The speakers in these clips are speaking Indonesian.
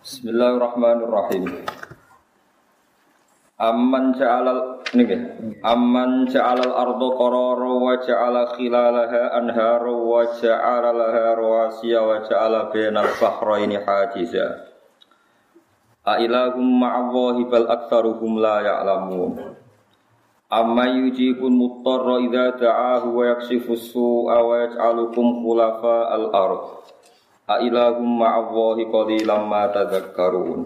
Bismillahirrahmanirrahim. Amman ja'alal arda qarara wa ja'ala khilalaha anhara wa ja'ala laha rawasiya wa ja'ala bainal bahraini hajiza. A ilahum ma'allahi bal aktsaruhum la ya'lamun. Amma yujibul muttarra idza da'ahu wa yakshifus su'a wa yaj'alukum khulafa'al ardh. A ilahum ma'allahi qalilan ma tadhakkarun.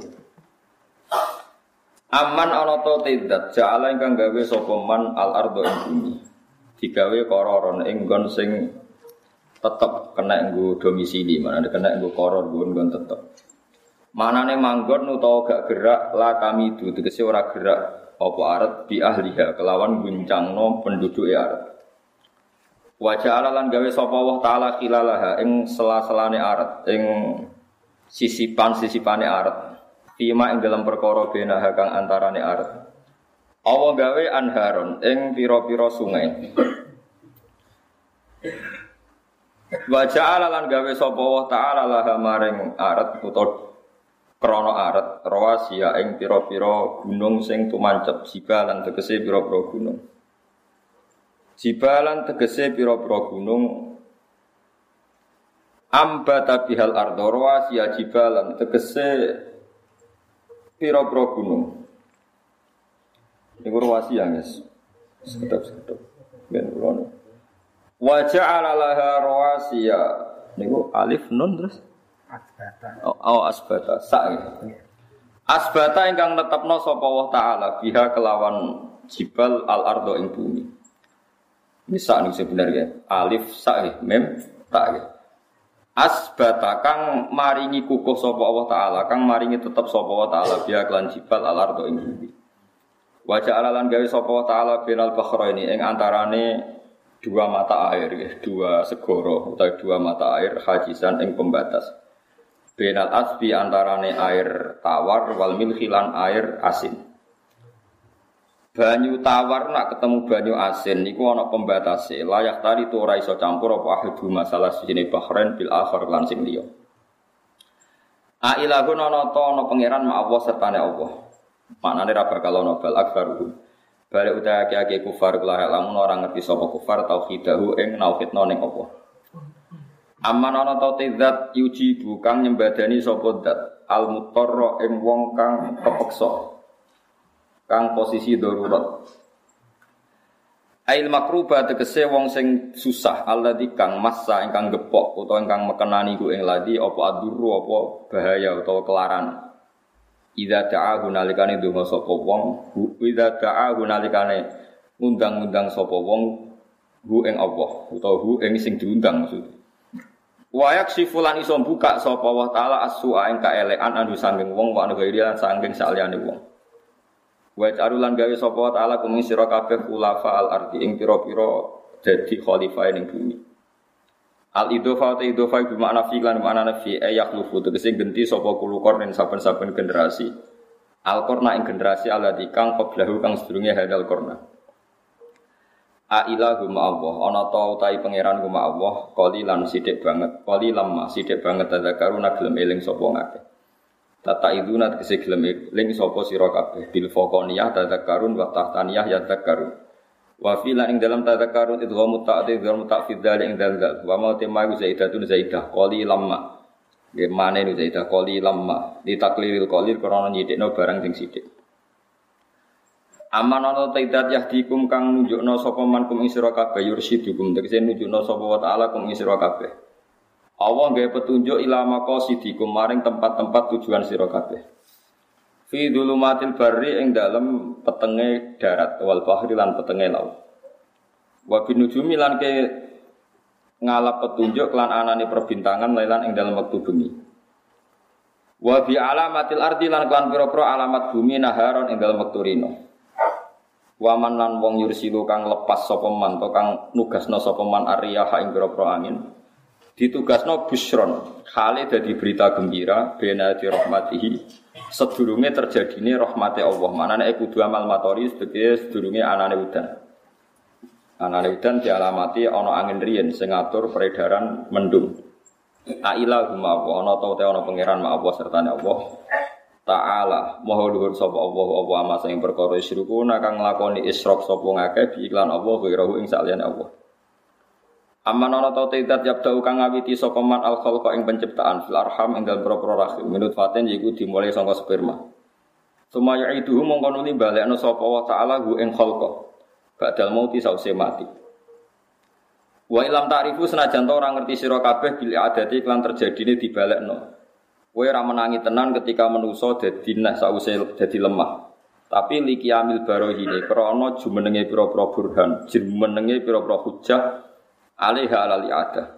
Aman ana ta tidak ja'ala ingkang gawe sapa man al ardo ing bumi. Digawe qararon ing nggon sing tetep kena nggo domisili, manane kena nggo qaror nggon tetep. Manane manggon utawa gak gerak la kami du tegese ora gerak apa aret bi ahliha kelawan guncangno penduduke aret. Wa ja'ala lan gawe sapa Allah taala khilalaha ing sela-selane aret ing sisipan-sisipane aret. Fima ing dalam perkara benaha kang antarane aret. Allah gawe anharon ing pira-pira sungai. Wa ja'ala lan gawe sapa Allah taala laha maring aret utawa krana aret rawasiya ing pira-pira gunung sing tumancep jibalan tegese pira-pira gunung. Jibalan tegese pira-pira gunung ambata bihal ardo rawasiya jibalan tegese pira-pira gunung. Niku rawasiya guys. Sekedap-sekedap. Ben kulo. Wa ja'ala laha rawasiya niku alif nun terus asbata. Asbata. Asbata ingkang netepno sapa Allah taala biha kelawan jibal al ardo ing bumi. Bisa nih sebenarnya alif sa mem ta. Asbata kang maringi kukuh sapa Allah taala, kang maringi tetep sapa Allah taala biha kelan jibal al ardo ing bumi. Wa ja'ala lan gawe sapa Allah taala binal bahraini ing antarane dua mata air, dua segara utawa dua mata air hajisan ing pembatas. Binal asbi antarane air tawar wal milhilan air asin. Banyu tawar nak ketemu banyu asin niku ana pembatase. Layak tali tu ora iso campur apa ahadu masalah sijine bahrain bil akhir lan sing liya. A ilahun ana ta ana pangeran ma Allah sertane Allah. Maknane ra bakal ana bal akbaru. Balik utahe ake kufar kula lamun ora ngerti sapa kufar tauhidahu ing nauhidna ning apa. Amman ana ta zat yuji kang nyembadani sapa zat al mutarra ing wong kang kepeksa. Kang posisi darurat. Ail makruba tegese wong sing susah alladzi kang massa ingkang gepok utawa ingkang mekenani ku ing ladi apa aduru apa bahaya utawa kelaran. Idza ta'ahu nalikane donga sapa wong, idza ta'ahu nalikane ngundang-undang sapa wong hu ing Allah utawa hu ing sing diundang maksud. Wa yaksifulan iso buka sapa Allah taala as-su'a ing kaelekan anu sanging wong wa anu lan sanging saliyane wong. Wa ta'arulan gawe sapa taala kumi sira kabeh khulafa al-ardi ing pira-pira dadi khalifah ning bumi. Al-idhofa ta idhofa bi makna fi lan makna nafi ayakhlufu tegese genti sapa kulukor ning saben-saben generasi. Al-qarna ing generasi alladzi kang qablahu kang sedurunge hadal qarna. A ilahu ma'allah ana ta utahe pangeran ku ma'allah qalilan sithik banget qalilan ma sithik banget tadzakaruna gelem eling sapa ngakeh. Tata iduna tegese gelem eling sapa sira kabeh bil faqaniyah tadzakarun wa tahtaniyah yadzakarun. Wa fi lan ing dalam tadzakarun idghamu ta'did wa mutafid dzalik ing dalal wa ma tema zaidatun zaidah qalilan ma. Nggih mane zaidah qalilan ma ditakliril qalil krana nyithikno barang sing sithik. Aman ana taidat yahdikum kang nunjukna sapa man kum ing sira kabeh yursidukum tegese nunjukna sapa wa ta'ala kum ing sira kabeh. Allah gawe petunjuk ila maqasidikum maring tempat-tempat tujuan sira kabeh. Fi dzulumatil barri ing dalem petenge darat wal bahri lan petenge laut. Wa binujumi lan ke ngalap petunjuk lan anane perbintangan lan ing dalem wektu bengi. Wa bi alamatil ardi lan kan pira-pira alamat bumi naharon ing dalem wektu rino. Waman lan wong yursilu kang lepas sapa man to kang nugasna sapa man ariyaha ing pira-pira angin. Ditugasno busron, khale dadi berita gembira bena di rahmatihi sedurunge terjadine rahmate Allah. Manane kudu amal matori sedurunge anane udan. Anane udan dialamati ana angin riyen sing ngatur peredaran mendung. Ailah huma apa ana ta ana pangeran ma apa sertane Allah Ta'ala maha luhur sapa Allah apa ama sing perkara isyrukuna kang nglakoni isyrok sapa ngakeh bi iklan Allah ghirahu ing saliyane Allah. Amman ana ta tidak yabda'u kang ngawiti sapa man al khalqa ing penciptaan fil arham ing dalem propro rahim minut faten iku dimulai saka sperma. Sumaya itu mongko nuli balekno sapa Allah Ta'ala hu ing khalqa badal mauti sause mati. Wa ilam ta'rifu senajan ta ora ngerti sira kabeh bil adati lan terjadine dibalekno. Kowe ora menangi tenan ketika manusa dadi nah sause dadi lemah. Tapi likiamil barohine krana jumenenge pira-pira burhan, jumenenge pira-pira hujjah alaiha alal i'adah.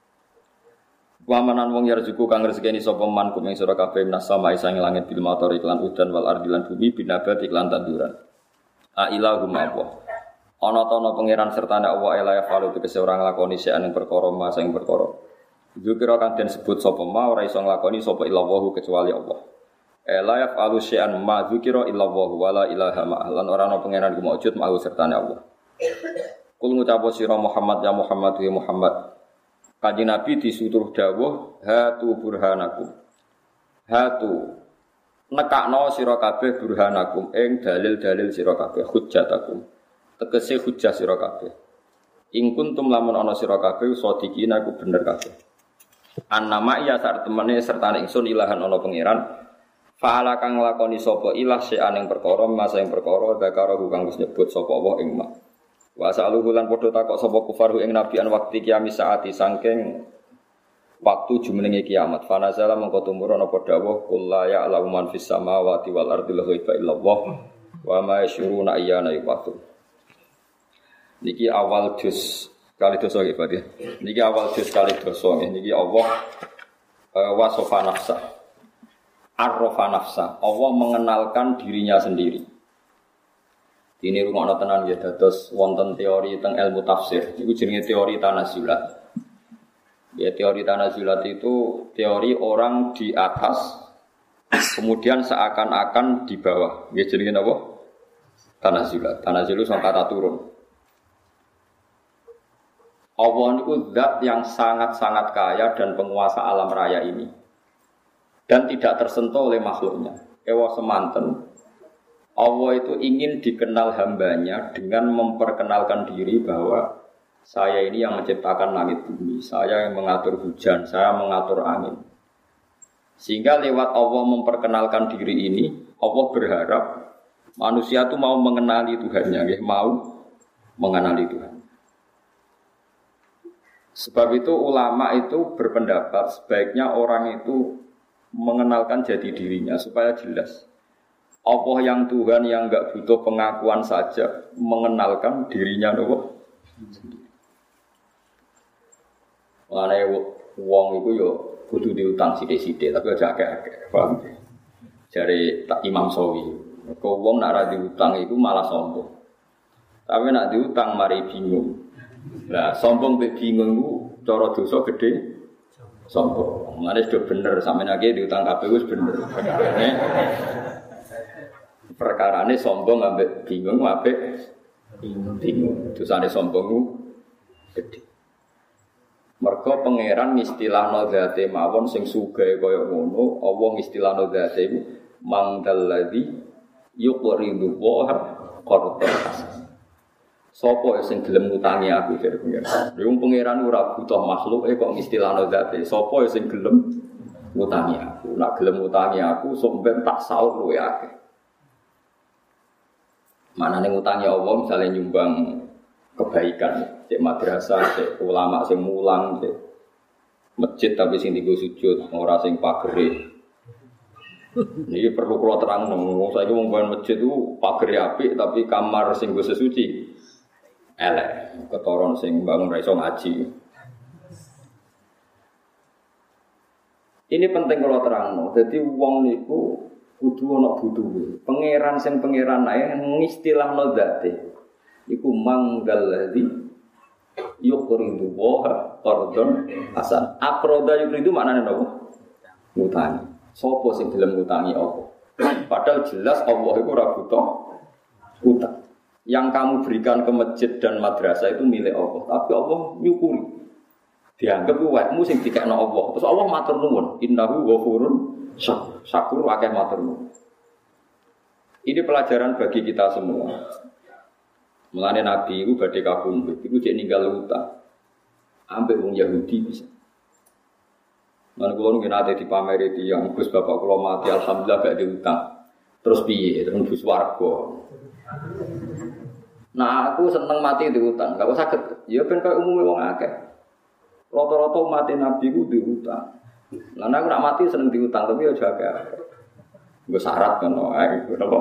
Wa manan wong yarzuku kang rezekeni sapa man kumeng sira kabeh minas sama isang langit bil mator iklan udan wal ardi lan bumi binabat iklan tanduran. A ilahum apa. Ana ta ana pangeran sertane Allah ela ya falu tegese ora nglakoni sing perkara ma sing perkara. Dzikira kang den sebut sapa ma ora iso nglakoni sapa illallahu kecuali Allah. La yafalu syai'an ma dzikira illallahu wala ilaha ma lan ora ana pangeran ku maujud ma sertane Allah. Kul ngucap sira Muhammad ya Muhammad ya Muhammad. Kanjeng Nabi disuruh dawuh hatu burhanakum. Hatu nekakno sira kabeh burhanakum ing dalil-dalil sira kabeh hujjatakum. Tegese hujjah sira kabeh. In kuntum lamun ana sira kabeh sadiqina ku bener kabeh. Annama ya sak temene sertane ingsun ilahan ana pangeran faala kang nglakoni sapa ilah syai'an ing perkara masa ing perkara zakara kang wis nyebut sapa Allah ing ma wa saluhu lan padha takok sapa kufaru ing nabi an waktu kiamat saati saking waktu jumenenge kiamat fanazala mengko tumurun apa dawuh qul la ya'lamu man fis samawati wal ardi ghaiba illallah wa ma yashuruna ayyana yub'atsun. Niki awal juz kali dosa nggih Pak. Niki awal juz kali dosa nggih. Niki Allah wasofa nafsa. Arrofa nafsa. Allah mengenalkan dirinya sendiri. Ini rungokno tenan nggih dados wonten teori teng ilmu tafsir. Iku jenenge teori tanazulat. Ya teori tanazulat itu teori orang di atas kemudian seakan-akan di bawah. Nggih jenenge napa? Tanazulat. Tanazulat sing kata turun. Allah itu zat yang sangat-sangat kaya dan penguasa alam raya ini dan tidak tersentuh oleh makhluknya. Ewa semanten Allah itu ingin dikenal hambanya dengan memperkenalkan diri bahwa saya ini yang menciptakan langit bumi, saya yang mengatur hujan, saya mengatur angin. Sehingga lewat Allah memperkenalkan diri ini, Allah berharap manusia itu mau mengenali Tuhannya, mau mengenali Tuhan. Sebab itu ulama itu berpendapat sebaiknya orang itu mengenalkan jati dirinya supaya jelas. Allah yang Tuhan yang enggak butuh pengakuan saja mengenalkan dirinya nopo sendiri. Mulane wong iku yo kudu diutang sithik-sithik tapi aja akeh-akeh. Paham? Jare Imam Sawi, kok wong nek ora diutang iku malah sombong. Tapi nek diutang mari bingung. Lah sombong mbek bingung ku cara dosa gedhe sombong. Mane sudah bener sampeyan akeh diutang kabeh wis bener. Perkarane sombong ambek bingung apik bingung. Dosane sombong ku gedhe. Mergo pangeran istilahno zate mawon sing sugih kaya ngono, Allah istilahno zate iku mangdalladzi yuqridu wa qardan hasan. Sopo sing gelem ngutangi aku dari pangeran. Wong pangeran ora butuh makhluk kok istilahno zate. Sopo sing gelem ngutangi aku. Nek gelem ngutangi aku sok ben tak saur luwe akeh. Manane ngutangi Allah misalnya nyumbang kebaikan, cek madrasah, cek ulama sing mulang, cek masjid tapi sing digo sujud, ora sing pagere. Niki perlu kula terangno. Saiki wong bangun masjid itu pagere apik tapi kamar sing go sesuci elek, ketoron sing bangun ra iso ngaji. Ini penting kalau terangno. Dadi wong niku kudu ana butuhe. Pangeran sing pangeran ae ngistilahno zate. Iku mangdalladzi yuqridu wa qardon hasan. Aqrada yuqridu maknane napa? Ngutangi. Sopo sing gelem ngutangi Allah? Padahal jelas Allah iku ora butuh utang. Yang kamu berikan ke masjid dan madrasah itu milik Allah, tapi Allah nyukuri. Dianggap wekmu sing dikekno Allah. Terus Allah matur nuwun, innahu ghafurun syakur akeh matur nuwun. Ini pelajaran bagi kita semua. Mulane Nabi iku badhe kabundut, iku jek ninggal utang. Ambek wong Yahudi bisa. Lan kula nggih nate dipameri tiyang Gus bapak kula mati alhamdulillah gak diutang. Terus piye? Terus bus warga. Nah aku seneng mati diutang, gak usah saged. Ya ben koyo umume wong akeh. Rata-rata mati Nabi ku diutang. Lah nek ora mati seneng diutang tapi aja akeh. Nggo syarat ngono ae napa?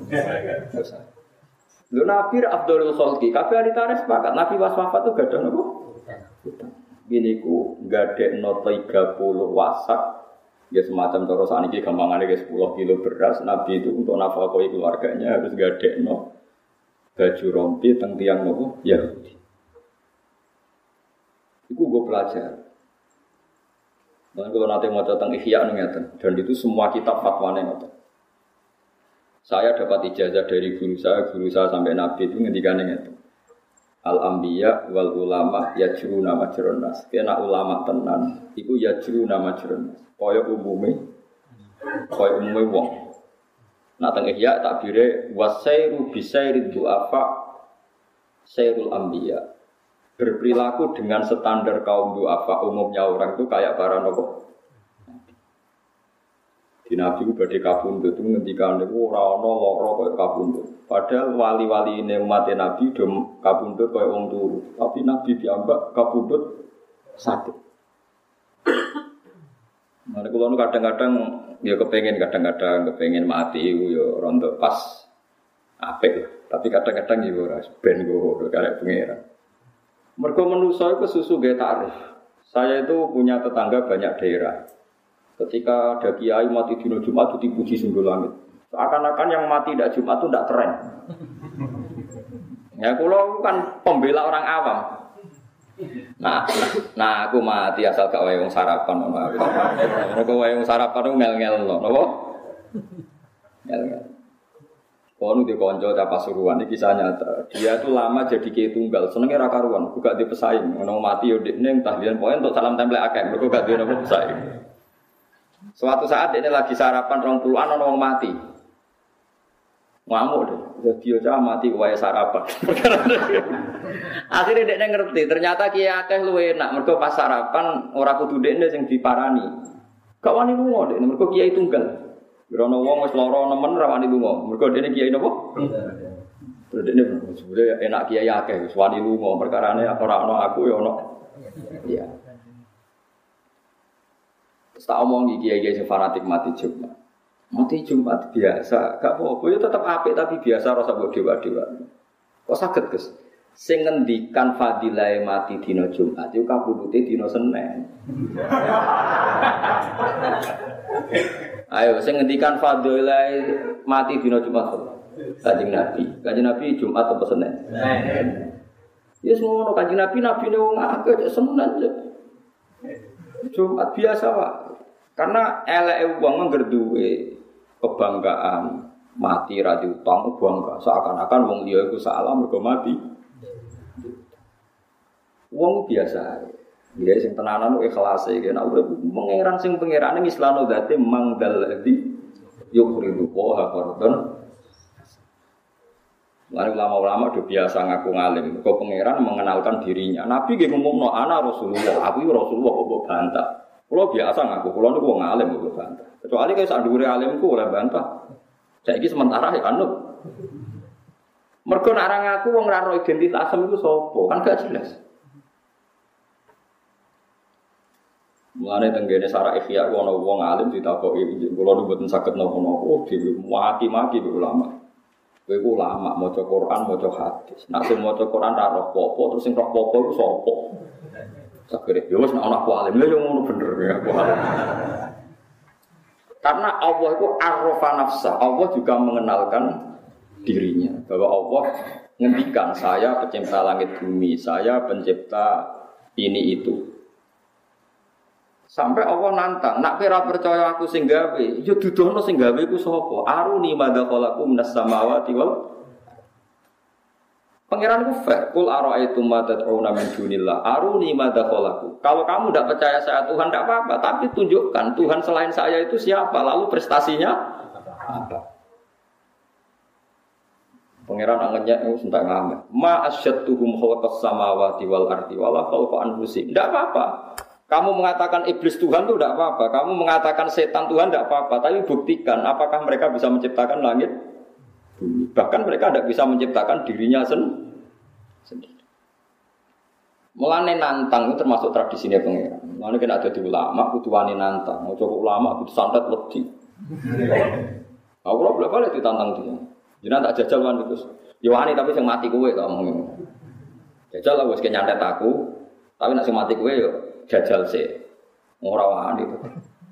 Lho Nabi Abdul Khalqi, kabeh ahli tarikh sepakat Nabi wafat itu gak ada napa? Utang. Gini ku gadekno 30 wasak. Ya semacam cara saniki gampangane 10 kilo beras. Nabi itu untuk nafkahi keluarganya harus gadekno baju rompi teng tiyang napa? Yahudi. Iku gue pelajar. Dan kalau nanti mau tentang Ihya ngeten, dan itu semua kitab fatwane ngeten. Saya dapat ijazah dari guru saya sampai Nabi itu ngendikane ngeten. Al-anbiya wal ulama yajruna majrun nas. Kena ulama tenan, iku yajruna majrun nas. Kaya umume wong. Nah teng Ihya takbire wasairu bisairid du'afa sairul anbiya. Berperilaku dengan standar kaum du'afa umumnya orang itu kayak para nopo. Di Nabi itu badhe kabundut itu ngendikan niku ora ana lara kaya kabundut. Padahal wali-wali ini umat Nabi do kabundut kaya wong turu, tapi Nabi diambak kabundut sakit. Mane kula nu kadang-kadang ya kepengin mati iku ya rontok pas apik. Tapi kadang-kadang ya ora ben go karek pengeran. Mergo manusa iku susu gawe takrif. Saya itu punya tetangga banyak daerah. Ketika ada kiai mati dina Jumat itu dipuji sungguh langit. Seakan-akan yang mati dak Jumat itu ndak keren. Ya kula kan pembela orang awam. Nah aku mati asal gak wae wong sarapan ngono aku. Mergo wae wong sarapan ku ngel-ngel lho, napa? Ngel-ngel. Kono di konco cah Pasuruan iki kisah nyata. Dia itu lama jadi kiai tunggal, senenge ra karuan, gak di pesaing. Ono mati yo dekne tahlilan poin untuk salam tempel akeh, mergo gak duwe napa pesaing. Suatu saat dekne lagi sarapan 20-an ono wong mati. Ngamuk deh, jadi cah mati wae sarapan. Akhirnya dekne ngerti, ternyata kiai akeh luwe enak, mergo pas sarapan ora kudu dekne sing diparani. Gak wani lunga dekne, mergo kiai tunggal. Gerono wong wis lara nemen ra wani lunga. Mergo dene kiai napa? Terus dene sebenarnya enak kiai akeh wis wani lunga. Perkarane ora ana aku ya ana. Iya. Tak omongi kiai-kiai sing fanatik mati Jumat. Mati Jumat biasa, gak apa-apa ya tetep apik tapi biasa rasa mbok dewa-dewa. Kok saged, Gus? Sing ngendikan fadilah mati dina Jumat iku kabudute dina Senin. Ayo, saya ngendikan fadilah mati dina Jumat. Kanjeng Nabi Jumat apa Senin? Ya semua Kanjeng Nabi ne wong akeh Senin aja. Jumat biasa Pak. Karena eleke wong ngger duwe kebanggaan mati ra diutang bangga seakan-akan wong liya iku salah mergo mati. Wong biasa. Dia sing tenanan ikhlas iki nek urip mengeran sing pangerane mislano dzate mangdal ladzi yukhridu wa fardhan. Lan ulama-ulama do biasa ngaku ngalim, kok pangeran mengenalkan dirinya. Nabi nggih ngomongno ana Rasulullah, aku iki Rasulullah kok bantah. Kulo biasa ngaku kulo niku wong alim kok bantah. Kecuali kaya sak dhuwure alimku ora bantah. Saiki sementara ya anut. Mergo nek ora ngaku wong ora ro identitas iku sapa? Kan gak jelas. Mulane tenggene sarah Ihya ana wong alim ditakoki kula nu mboten saged napa-napa dhewe maki-maki ulama. Kowe ku ulama maca Quran, maca hadis. Nek sing maca Quran ra roh apa terus sing roh apa iku sapa? Sakire yo wis nek ana alim lha yo ngono bener ya aku alim. Karena Allah itu arrafa nafsa, Allah juga mengenalkan dirinya bahwa Allah ngendikan saya pencipta langit bumi, saya pencipta ini itu. Sampai Allah nantang, nak kira percaya aku sing gawe, ya dudono sing gawe ku sapa? Aruni madza khalaqu minas samawati wal. Pangeran ku fair. Kul ara'aitum ma tad'una min dunillah aruni madza khalaqu. Kalau kamu tidak percaya saya Tuhan tidak apa-apa, tapi tunjukkan Tuhan selain saya itu siapa, lalu prestasinya apa. Pangeran anggenya itu sentak ngamen. Ma asyadtuhum khalaqas samawati wal ardi wala khalqa anfusihim. Tidak apa-apa. Kamu mengatakan iblis Tuhan itu tidak apa-apa. Kamu mengatakan setan Tuhan tidak apa-apa. Tapi buktikan apakah mereka bisa menciptakan langit bumi. Bahkan mereka tidak bisa menciptakan dirinya sendiri. Mulane nantang itu termasuk tradisinya pangeran. Mulane kena ada di ulama, kudu wani nantang. Mau cukup ulama kudu santet wedi. Aku lho boleh ditantang dia. Jenengan tak jajal wan itu. Ya wani tapi sing mati kowe kok ngomong. Jajal lah wis nyantet aku. Tapi nek sing mati kowe yo jajal sih. Ora wani itu.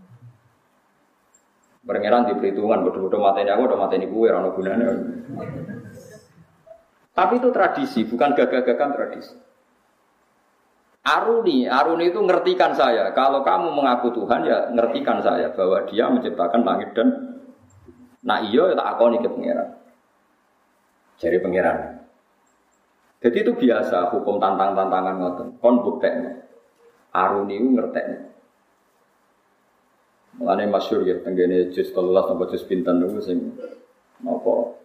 Pangeran di perhitungan bodoh-bodoh mateni aku udah mateni kowe ora ono gunane. Tapi itu tradisi, bukan gagah-gagahan tradisi. Aruni itu ngertikan saya. Kalau kamu mengaku Tuhan ya ngertikan saya bahwa Dia menciptakan langit dan nah iya tak akoni ke pangeran. Jadi pangeran. Jadi itu biasa hukum tantang-tantangan ngoten. Kon buktekno. Aruni itu ngertekno. Mulane masyhur ya tenggene juz 13 sampai juz pinten niku sing napa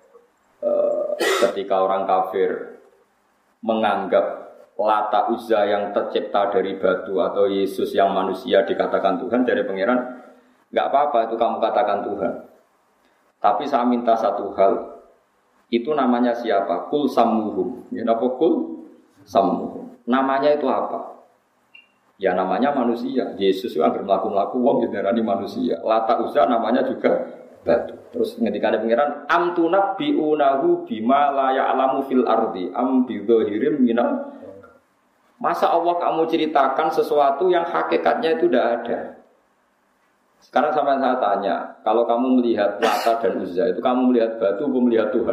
ketika orang kafir menganggap Lata Uzza yang tercipta dari batu atau Yesus yang manusia dikatakan Tuhan dari pangeran, enggak apa-apa itu kamu katakan Tuhan. Tapi saya minta satu hal. Itu namanya siapa? Kul sammuhum. Ya napa kul sammuhum. Namanya itu apa? Ya namanya manusia. Yesus itu agar melaku-melaku wong diarani manusia. Lata Uzza namanya juga batu. Terus ngendikane pangeran am tunabbiunahu bima la ya'lamu fil ardi am bidzahirim minal. Masa Allah kamu ceritakan sesuatu yang hakikatnya itu tidak ada. Sekarang sampai saya tanya, kalau kamu melihat Lata dan Uzza itu kamu melihat batu atau melihat Tuhan?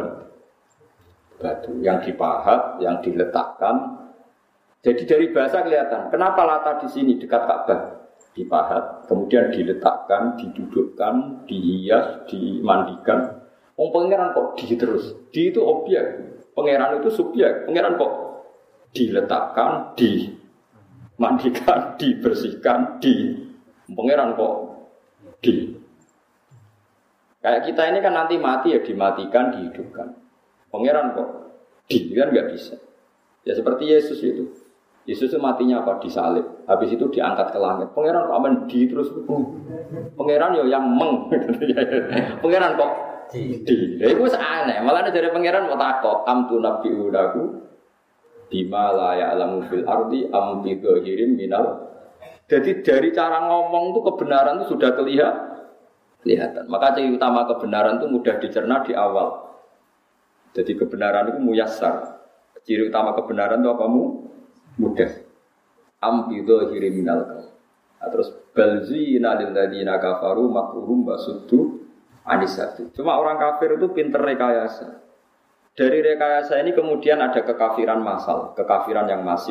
Batu yang dipahat, yang diletakkan. Jadi dari bahasa kelihatan. Kenapa Lata di sini dekat Ka'bah? Dipahat, kemudian diletakkan, didudukkan, dihias, dimandikan. Pangeran kok di terus? Di itu objek, pangeran itu subjek. Pangeran kok diletakkan, dimandikan, dibersihkan, pangeran kok di. Kayak kita ini kan nanti mati ya dimatikan, dihidupkan. Pangeran kok di kan nggak bisa. Ya seperti Yesus itu. Yesus itu matinya apa? Disalib. Habis itu diangkat ke langit. Pangeran kok aman di terus. Pangeran yo yang meng. Pangeran kok di. Ya itu aneh. Malah dari pangeran mau takok am tu nabbiunahu bima la ya'lamu fil ardi am bi dhahirim minal. Jadi dari cara ngomong itu kebenaran itu sudah kelihatan. Maka ciri utama kebenaran itu mudah dicerna di awal. Jadi kebenaran itu muyassar. Ciri utama kebenaran itu apa mudah. Am bi dhahirim minal. Terus balzina lil ladina kafaru makruhum basuddu anisatu. Cuma orang kafir itu pinter rekayasa. Dari rekayasa ini kemudian ada kekafiran massal, kekafiran yang masif.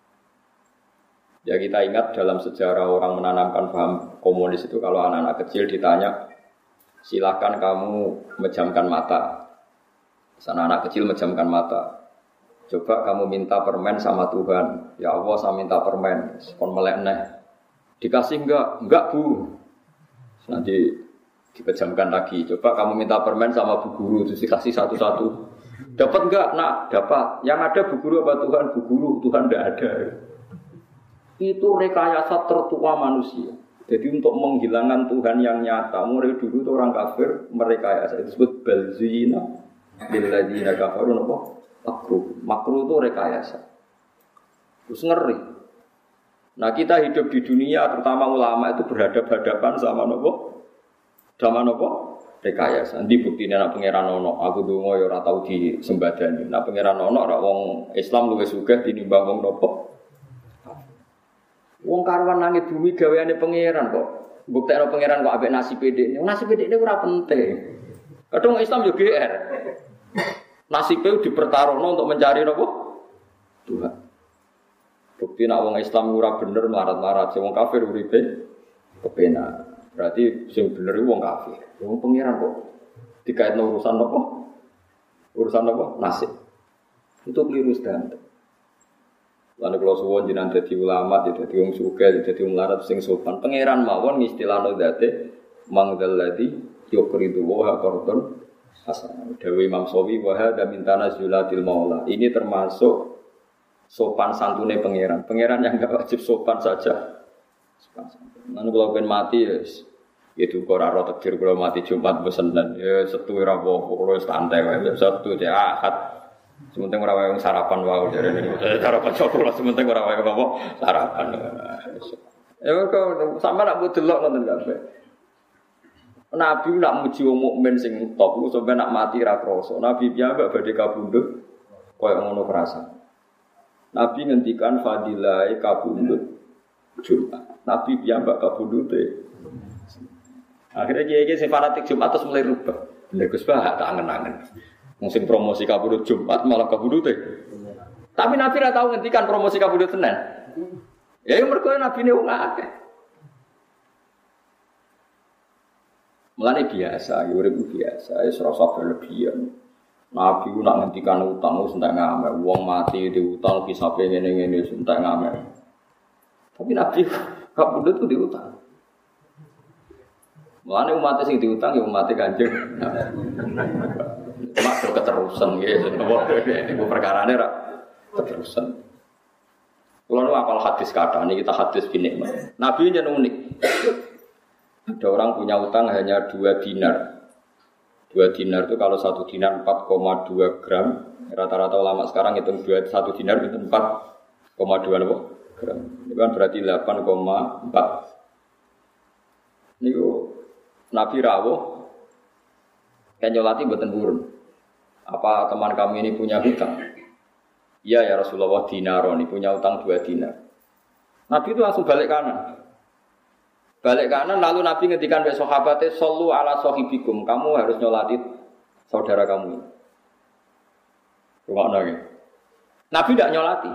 Ya kita ingat dalam sejarah orang menanamkan paham komunis itu kalau anak-anak kecil ditanya, silakan kamu memejamkan mata. Sana anak kecil memejamkan mata. Coba kamu minta permen sama Tuhan. Ya Allah saya minta permen. Kon melek neh. Dikasih enggak Bu. Nanti dipejamkan lagi. Coba kamu minta permen sama Bu Guru, terus dikasih satu-satu. Dapat enggak? Nak, dapat. Yang ada Bu Guru apa Tuhan? Bu Guru, Tuhan enggak ada. Itu rekayasa tertua manusia. Jadi untuk menghilangkan Tuhan yang nyata, mulai dulu itu orang kafir merekayasa. Itu disebut balzina lilladzina kafaru apa? Makruh itu rekayasa. Terus ngeri. Nah kita hidup di dunia, terutama ulama itu berhadapan-hadapan sama nopo, sama nopo rekayasa. Nanti buktinya nak pangeran ono, aku dungo ya ora tau disembadani. Nak pangeran ono, ora wong Islam luwih sugih tinimbang wong nopo. Wong karuan langit bumi gaweane pangeran kok. Buktekno pangeran kok ambek nasib dhekne. Nasib dhekne ora penting. Kadang Islam yo GR. Nasibnya dipertaruhno untuk mencari nopo Tuhan. Bukti nak wong Islam ora bener melarat-larat, wong kafir uripe kepenak. Berarti sing bener wong kafir. Wong pangeran kok dikaitno urusan nopo? Urusan nopo? Nasib. Itu keliru standar. Lalu kalau suwon jinan jadi ulama, jadi wong sugih, jadi wong larat sing sopan. Pangeran mawon istilahno date mangdalladzi yuqridu wa qardun hasan. Dewi Imam Sawi wa hadza min tanazulatil maula. Ini termasuk sopan santune pangeran. Pangeran yang enggak wajib sopan saja. Sopan santun. Lalu kalau pengen mati itu ora ora takdir kalau mati Jumat besenen. Ya setu ora apa-apa, kalau santai wae. Sabtu ya Ahad. Sementing ora wae sarapan wae jarene. Sarapan cokol sementing ora wae apa sarapan. Ya kok sampe nak delok ngoten kabeh. Nabi nak muji wong mukmin sing top ku sampe nak mati ra krasa. Nabi piyambak badhe kabundut koyo ngono kerasa. Nabi ngendikan fadilah kabundut Jumat. Nabi piyambak kabundute. Akhirnya kiai sing fanatik Jumat terus mulai rubah. Lha Gus Bah tak angen-angen. Musim promosi kabudut Jumat malah kabudute. Tapi Nabi ora tau ngendikan promosi kabudut Senin. Ya mergo Nabi ne wong akeh. Mulane biasa, urip biasa, wis ora usah berlebihan. Nabi ku nak ngendikan utang wis entek ngamer. Wong mati diutang kisape ngene-ngene wis entek ngamer. Tapi Nabi kabudut ku diutang. Mulane umat sing diutang ya umat Kanjeng. Mak do keterusan nggih, niku perkarane ra keterusan. Kulo nu apal hadis kathah niki kita hadis binik. Nabi yen unik. Ada orang punya utang hanya 2 dinar. 2 dinar itu kalau 1 dinar 4,2 gram. Rata-rata ulama sekarang hitung 1 dinar itu 4,2 gram. Itu kan berarti 8,4. Niku Nabi rawuh kan nyolati mboten purun. Apa teman kami ini punya hutang? Iya ya Rasulullah dinaron, punya utang 2 dinar. Nabi itu langsung balik kanan. Balik kanan lalu Nabi ngendikan ke sahabatnya sallu ala sahibikum, kamu harus nyolati saudara kamu. Rungokno nggih. Nabi tidak nyolati.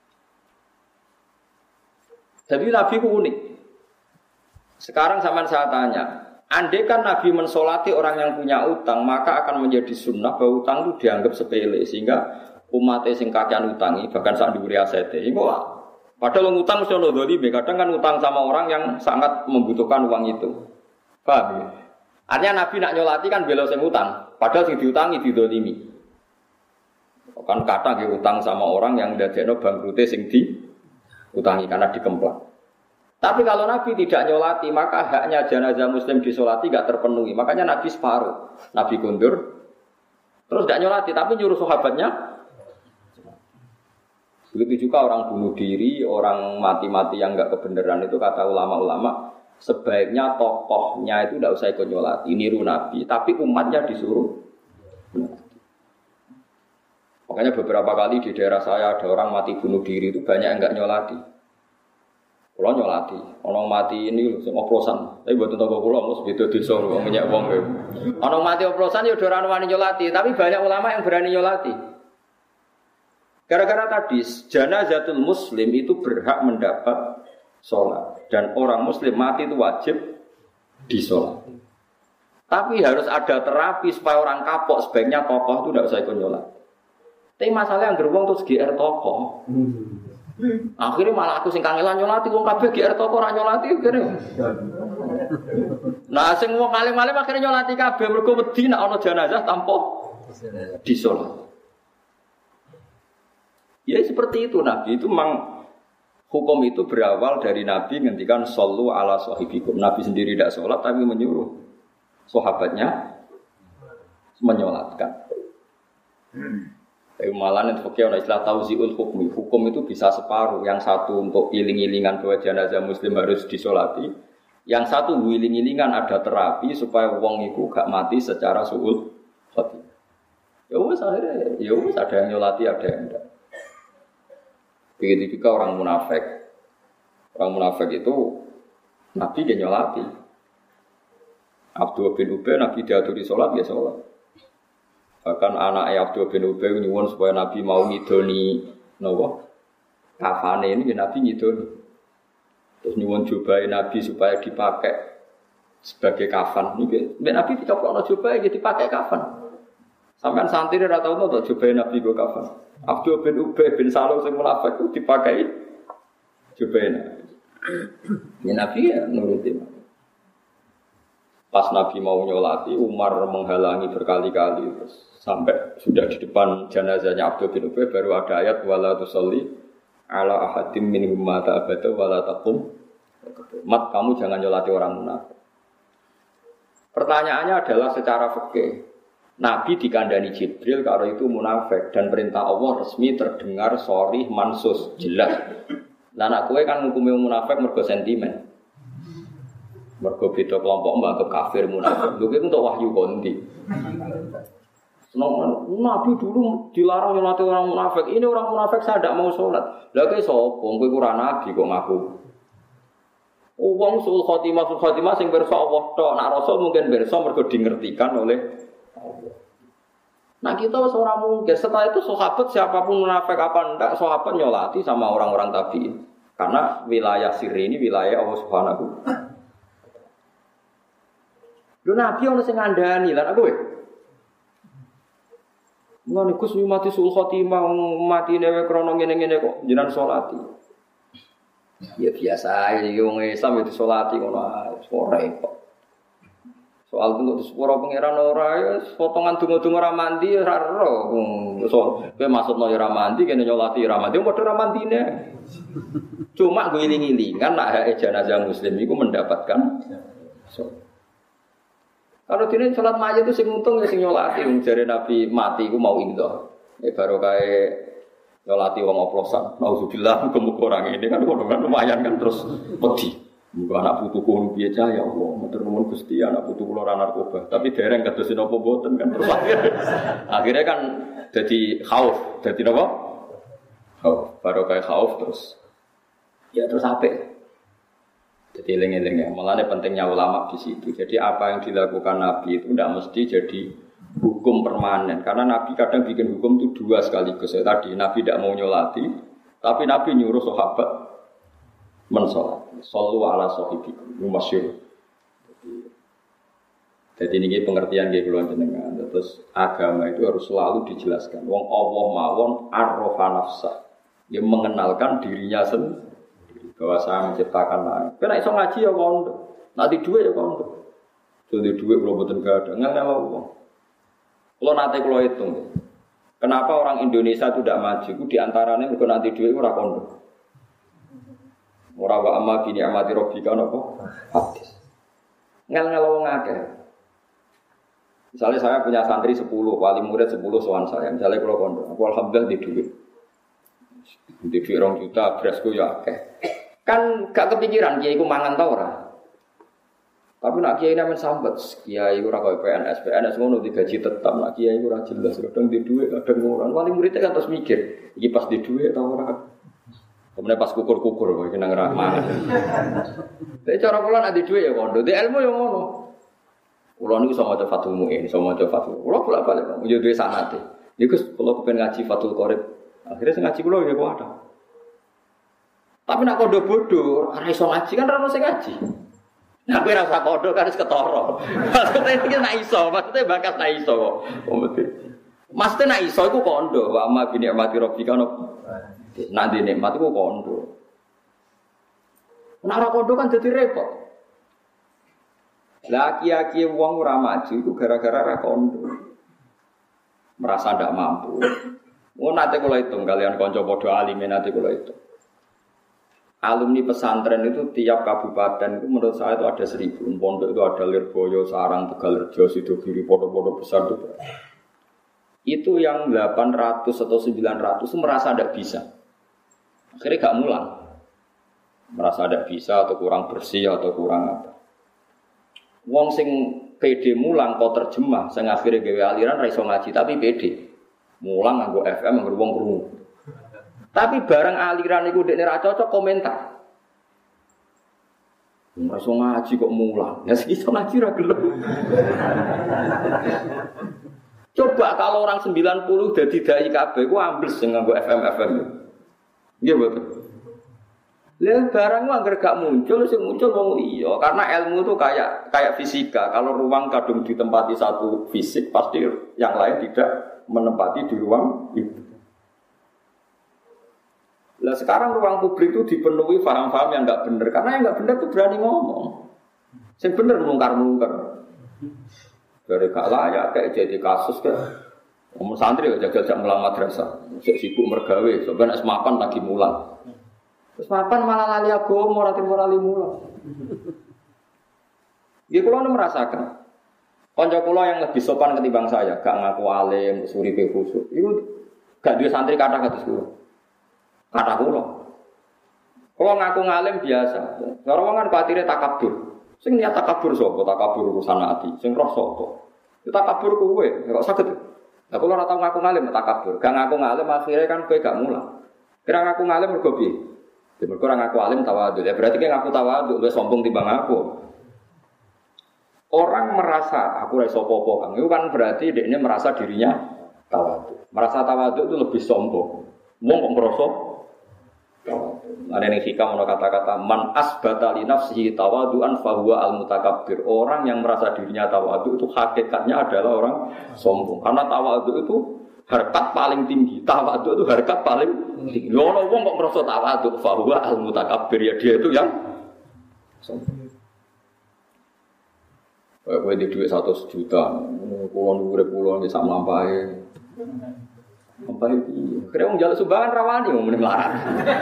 Jadi Nabi itu unik. Sekarang sampean saya tanya, andai kan Nabi mensolati orang yang punya utang, maka akan menjadi sunnah bahwa utang itu dianggap sepele sehingga umatnya sing kakean utangi bahkan sak dhuwure asete. Iku padahal ngutang mesti ono dzalime, kadang kan utang sama orang yang sangat membutuhkan uang itu. Paham ya? Artinya Nabi nak nyolati kan bela sing utang, padahal sing diutangi didzalimi. Kan kata nggih utang sama orang yang ndadekno bangkrute sing diutangi karena dikemplang. Tapi kalau Nabi tidak nyolati, maka haknya jenazah muslim disolati tidak terpenuhi. Makanya Nabi separuh. Nabi kundur, terus tidak nyolati, tapi nyuruh sahabatnya. Begitu juga orang bunuh diri, orang mati-mati yang enggak kebenaran itu kata ulama-ulama, sebaiknya tokohnya itu tidak usah ikut nyolati, niru Nabi, tapi umatnya disuruh. Makanya beberapa kali di daerah saya ada orang mati bunuh diri itu banyak yang enggak nyolati. Kalau nyolati, orang mati ini oplosan, tapi buat tentang pulau mus gitu disuruh minyak uang. Orang mati oplosan ya udah orang wani nyolati, tapi banyak ulama yang berani nyolati. Gara-gara tadi, janazatul muslim itu berhak mendapat sholat. Dan orang muslim mati itu wajib disolat. Tapi harus ada terapi supaya orang kapok, sebaiknya tokoh itu tidak usah ikut nyolat. Tapi masalah yang gerbong terus GR tokoh. Akhirnya malah aku sing kangelan nyolati, wong kabeh GR tokoh ora nyolati akhirnya. Nah, sing wong alim-alim akhirnya nyolati kabeh mergo wedi nek ana jenazah tanpa disolat. Ya seperti itu Nabi itu memang hukum itu berawal dari Nabi ngendikan sallu ala sahibikum. Nabi sendiri tidak sholat tapi menyuruh sahabatnya menyolatkan. Tapi malah itu pakai istilah tauziul hukmi. Hukum itu bisa separuh. Yang satu untuk iling-ilingan bahwa jenazah muslim harus disolati. Yang satu iling-ilingan ada terapi supaya wong iku gak mati secara suul khotimah. Ya wis akhirnya ya wis ada yang nyolati ada yang enggak. Begitu juga orang munafik. Orang munafik itu Nabi dia nyolati. Abdullah bin Ubay Nabi diaturi sholat ya sholat. Bahkan anaknya Abdullah bin Ubay nyuwun supaya Nabi mau ngidoni nopo kafane ini Nabi ngidoni. Terus nyuwun jubahe Nabi supaya dipakai sebagai kafan. Ini Nabi dicoplokno jubahe dipakai kafan. Sampean santri ora tau to jubahe Nabi go kafan. Abdul bin Ubay bin Salul sing munafik ku dipakai jubahe Nabi. Ya Nabi ya nuruti. Pas Nabi mau nyolati, Umar menghalangi berkali-kali terus sampai sudah di depan jenazahnya Abdul bin Ubay baru ada ayat wala tusalli ala ahadim minhum mata abada wala taqum. Mat kamu jangan nyolati orang munafik. Pertanyaannya adalah secara fikih. Nabi dikandani Jibril kalau itu munafik dan perintah Allah resmi terdengar sharih mansus jelas. Lah anak kowe kan ngukumi munafik mergo sentimen. Mergo beda kelompok mbak kafir munafik. Lho kuwi untuk wahyu kondi. Nabi dulu dilarang nyolati orang munafik. Ini orang munafik saya tidak mau sholat. Lah kowe sapa? Kowe ora nabi kok ngaku. Wong sul khotimah sing pirsa Allah tok. Nak rasul mungkin pirsa mergo dingertikan oleh Allah. Nah kita seorang mungkin setelah itu sahabat siapapun munafik apa enggak sahabat nyolati sama orang-orang tabi'in karena wilayah sirri ini wilayah Allah Subhanahu. Lho Nabi ono sing ngandani lan aku ngono Gus mati sul khotimah mati dhewe krana ngene-ngene kok jenengan salati. Ya biasa iki wong Islam itu salati ngono ora kok. Soal tunggu sepuro pangeran ora ya potongan donga-donga ora mandi ora ero. So, kowe maksudno ora mandi kene nyolati ora mandi padha ora mandine. Cuma gue iling-ilingan nak hak jenazah muslim iku mendapatkan. Kalau dene salat mayit itu sing untung ya sing nyolati wong jare Nabi mati iku mau indah. Baru kae nyolati wong oplosan. Nauzubillah muga-muga orang ini kan lumayan kan terus wedi. Muga anak putuku piye cah ya Allah, matur nuwun Gusti anak putuku ora narkoba, tapi dereng kados napa mboten kan terus akhirnya kan jadi khauf, jadi napa? Khauf, baru kayak khauf terus. Ya terus apik. Jadi eling-eling ya, mulane pentingnya ulama di situ. Jadi apa yang dilakukan Nabi itu tidak mesti jadi hukum permanen karena Nabi kadang bikin hukum itu dua sekaligus. Ya, tadi Nabi tidak mau nyolati, tapi Nabi nyuruh sahabat mensolat. Sallu ala sahibikum masyhur. Jadi ini pengertian nggih kula jenengan. Terus agama itu harus selalu dijelaskan. Wong Allah mawon arrofa nafsah. Dia mengenalkan dirinya sendiri bahwa saya menciptakan langit. Kena iso ngaji ya kondo. Nanti duit ya kondo. Jadi duit kula mboten gadah. Ngene wong. Kula nate kula hitung. Kenapa orang Indonesia itu tidak maju? Itu diantaranya mergo nanti duit ora kondo. Ora wa amma bi ni'mati rabbika napa? Hadis. Ngel-ngel wong akeh. Misalnya saya punya santri 10, wali murid 10 sowan saya. Misalnya kalau kondo, aku alhamdulillah di duit. Di duit 2 juta, berasku ya akeh. Kan gak kepikiran kiai ku mangan ta ora. Tapi nak kiai namen sambat, kiai ora koyo PNS ngono digaji tetap, nak kiai ora jelas, kadang di duit, kadang ora. Wali murid kan terus mikir, iki pas di duit ta ora. Kemudian pas kukur-kukur kok iki nang rahmat. Tapi cara kula nek di dhuwit ya kondo, di ilmu ya ngono. Kula niku iso maca Fathul Mu'in, iso maca Fathul. Kula bolak-balik yo duwe sanate. Niku kula kepen ngaji Fathul Qorib. Akhire sing ngaji kula ya kok ada. Tapi nek kondo bodho, ora iso ngaji kan ora ono sing ngaji. Nek kowe ora usah kondo kan wis ketara. Maksudnya iki nek iso, maksudnya bakat nek iso kok. Maksudnya nek iso iku kondo, wa amma bi ni'mati rabbika nanti nikmat itu kondo. Nek ora kondo kan jadi repot. Lah kiai-kiai wong ora maju itu gara-gara ora kondo. Merasa ndak mampu. Oh nate kula hitung kalian kanca padha alime nate kula hitung. Alumni pesantren itu tiap kabupaten itu menurut saya itu ada 1000. Pondok itu ada Lirboyo, Sarang, Tegalrejo, Sidogiri, pondok-pondok besar itu. Itu yang 800 atau 900 itu merasa ndak bisa. Akhirnya gak mulang. Merasa tidak bisa atau kurang bersih atau kurang apa. Wong sing PD mulang kok terjemah, sing akhirnya gawe aliran ra iso ngaji tapi PD. Mulang nganggo FM nganggo wong krungu. Tapi barang aliran iku dekne ra cocok komentar. Ora iso ngaji kok mulang. Ya iso ngaji ra gelem. Coba kalau orang 90 dadi dai kabeh ku ambles sing nganggo FM. Iya betul. Lah barang anggar gak muncul, sing muncul wong iya. Karena ilmu itu kayak fisika. Kalau ruang kadung ditempati satu fisik, pasti yang lain tidak menempati di ruang itu. Lah sekarang ruang publik itu dipenuhi paham-paham yang enggak benar. Karena yang enggak benar itu berani ngomong. Sing bener mungkar-mungkar. Dari gak layak kayak jadi kasus kayak ngomong santri ya jaga-jaga mulang madrasah. Sibuk mergawe, sampeyan nek mapan lagi mulang. Terus mapan malah lali agama, ora timur lali mulang. Nggih kula merasakan. Kanca kula yang lebih sopan ketimbang saya, gak ngaku alim, suripe khusuk. Iku gak duwe santri kathah kados kula. Kathah kula. Kula ngaku ngalim biasa. Cara wong kan batire takabur. Sing niat takabur sapa? Takabur urusan ati. Sing roh sapa? Itu takabur kowe, kok saged. Lah kula ora tau ngaku ngalim takabur. Gak ngaku ngalim akhire kan kowe gak mulang. Kira ngaku ngalim mergo piye? Ya mergo ora ngaku alim tawadhu. Ya berarti kan ngaku tawadhu luwih sombong timbang aku. Orang merasa aku ora iso apa-apa, Kang. Itu kan berarti dekne merasa dirinya tawadhu. Merasa tawadhu itu lebih sombong. Wong kok ngrasa ada yang hikam ono kata-kata man asbata li nafsihi tawadu'an fa huwa al-mutakabbir. Orang yang merasa dirinya tawadhu itu hakikatnya adalah orang sombong. Karena tawadhu itu harkat paling tinggi. Tawadhu itu harkat paling tinggi. Ono wong kok merasa tawadhu fa huwa al-mutakabbir, ya dia itu yang sombong. Kowe di duit 100 juta, kulon urip kulon bisa mlampahe. Apa iki? Kira wong njaluk sumbangan rawani wong muni melarat.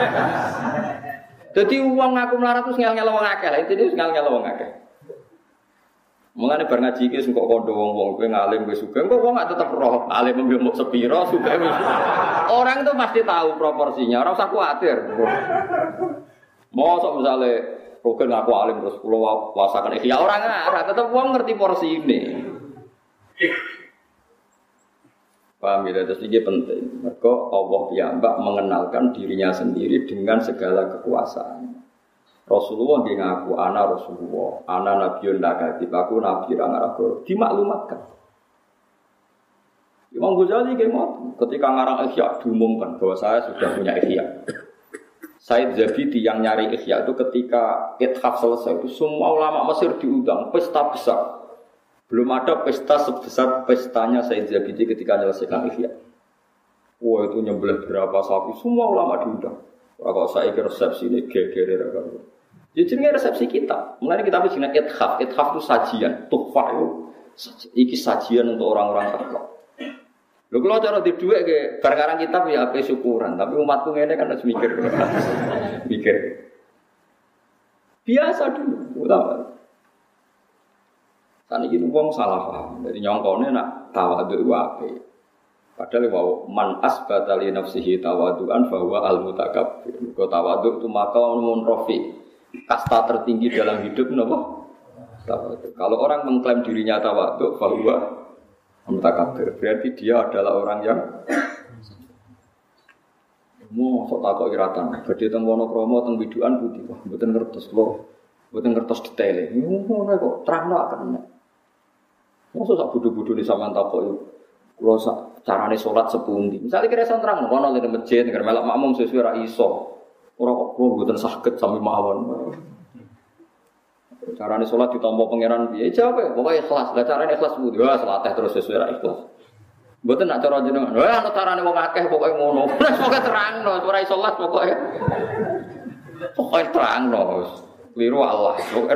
Dadi wong ngaku melarat terus ngel-ngel wong akeh. Lah intine ngel-ngel wong akeh. Mengane bar ngaji iki sing kok kandha wong-wong kowe ngalim kowe sugih, kok wong gak tetep roh alim mbok sepira sugih. Orang itu pasti tahu proporsinya, ora usah kuwatir. Mosok misale Rogen ngaku alim terus kula wasakan ya orang ngarah, tetep wong ngerti porsi ini. Paham ya, terus ini penting. Maka Allah piyambak mengenalkan dirinya sendiri dengan segala kekuasaan. Rasulullah dia ngaku ana Rasulullah, ana nabiyun lakatib, aku nabi rangarako. Dimaklumatkan. Imam Ghazali ketika ngarang Ihya diumumkan bahwa saya sudah punya Ihya. Said Zabidi yang nyari Ihya itu ketika Ithaf selesai itu semua ulama Mesir diundang, pesta besar. Belum ada pesta sebesar pestanya Said Zabidi ketika menyelesaikan Ihya. Wah itu nyembelih berapa sapi, semua ulama diundang. Kalau saya kira resepsi ini gegere raga. Jadi jenenge resepsi kita. Mulai kita bikin Ithaf. Ithaf itu sajian, tuhfah itu. Iki sajian untuk orang-orang takwa. Lho kalau cara di duit ke barang kitab ya ape syukuran, tapi umatku ngene kan harus mikir. Mikir. Biasa dulu, utama. Saniki wong salah paham. Jadi nyongkone nak tawadhu wae. Padahal wau man asbata li nafsihi tawadhuan fa huwa al-mutakabbir. Kok tawadhu itu maqamun rafi. Kasta tertinggi dalam hidup napa? Tawadhu. Kalau orang mengklaim dirinya tawadhu fa huwa mutakabbir, berarti dia adalah orang yang mau sok takok iratan. Badhe teng Wonokromo teng Widukan putih, wah mboten ngertos kula. Mboten ngertos detaile. Ngono kok terangno akan. Mosok sak bodho-bodhone sampean takok kula sak carane salat sepundi. Misale kira iso terangno kono ning masjid nek melok makmum sesuai ra iso. Ora kok kula mboten saged sami mawon. Carane salat ditampa pangeran piye? Jawab ya, pokoke ikhlas. Lah carane ikhlas kudu wah salateh terus sesuai ra ikhlas. Mboten nak cara jenengan. Wah ana carane wong akeh pokoke ngono. Wis pokoke terangno, ora iso salat pokoke. Pokoke terangno. Kliru Allah. Pokoke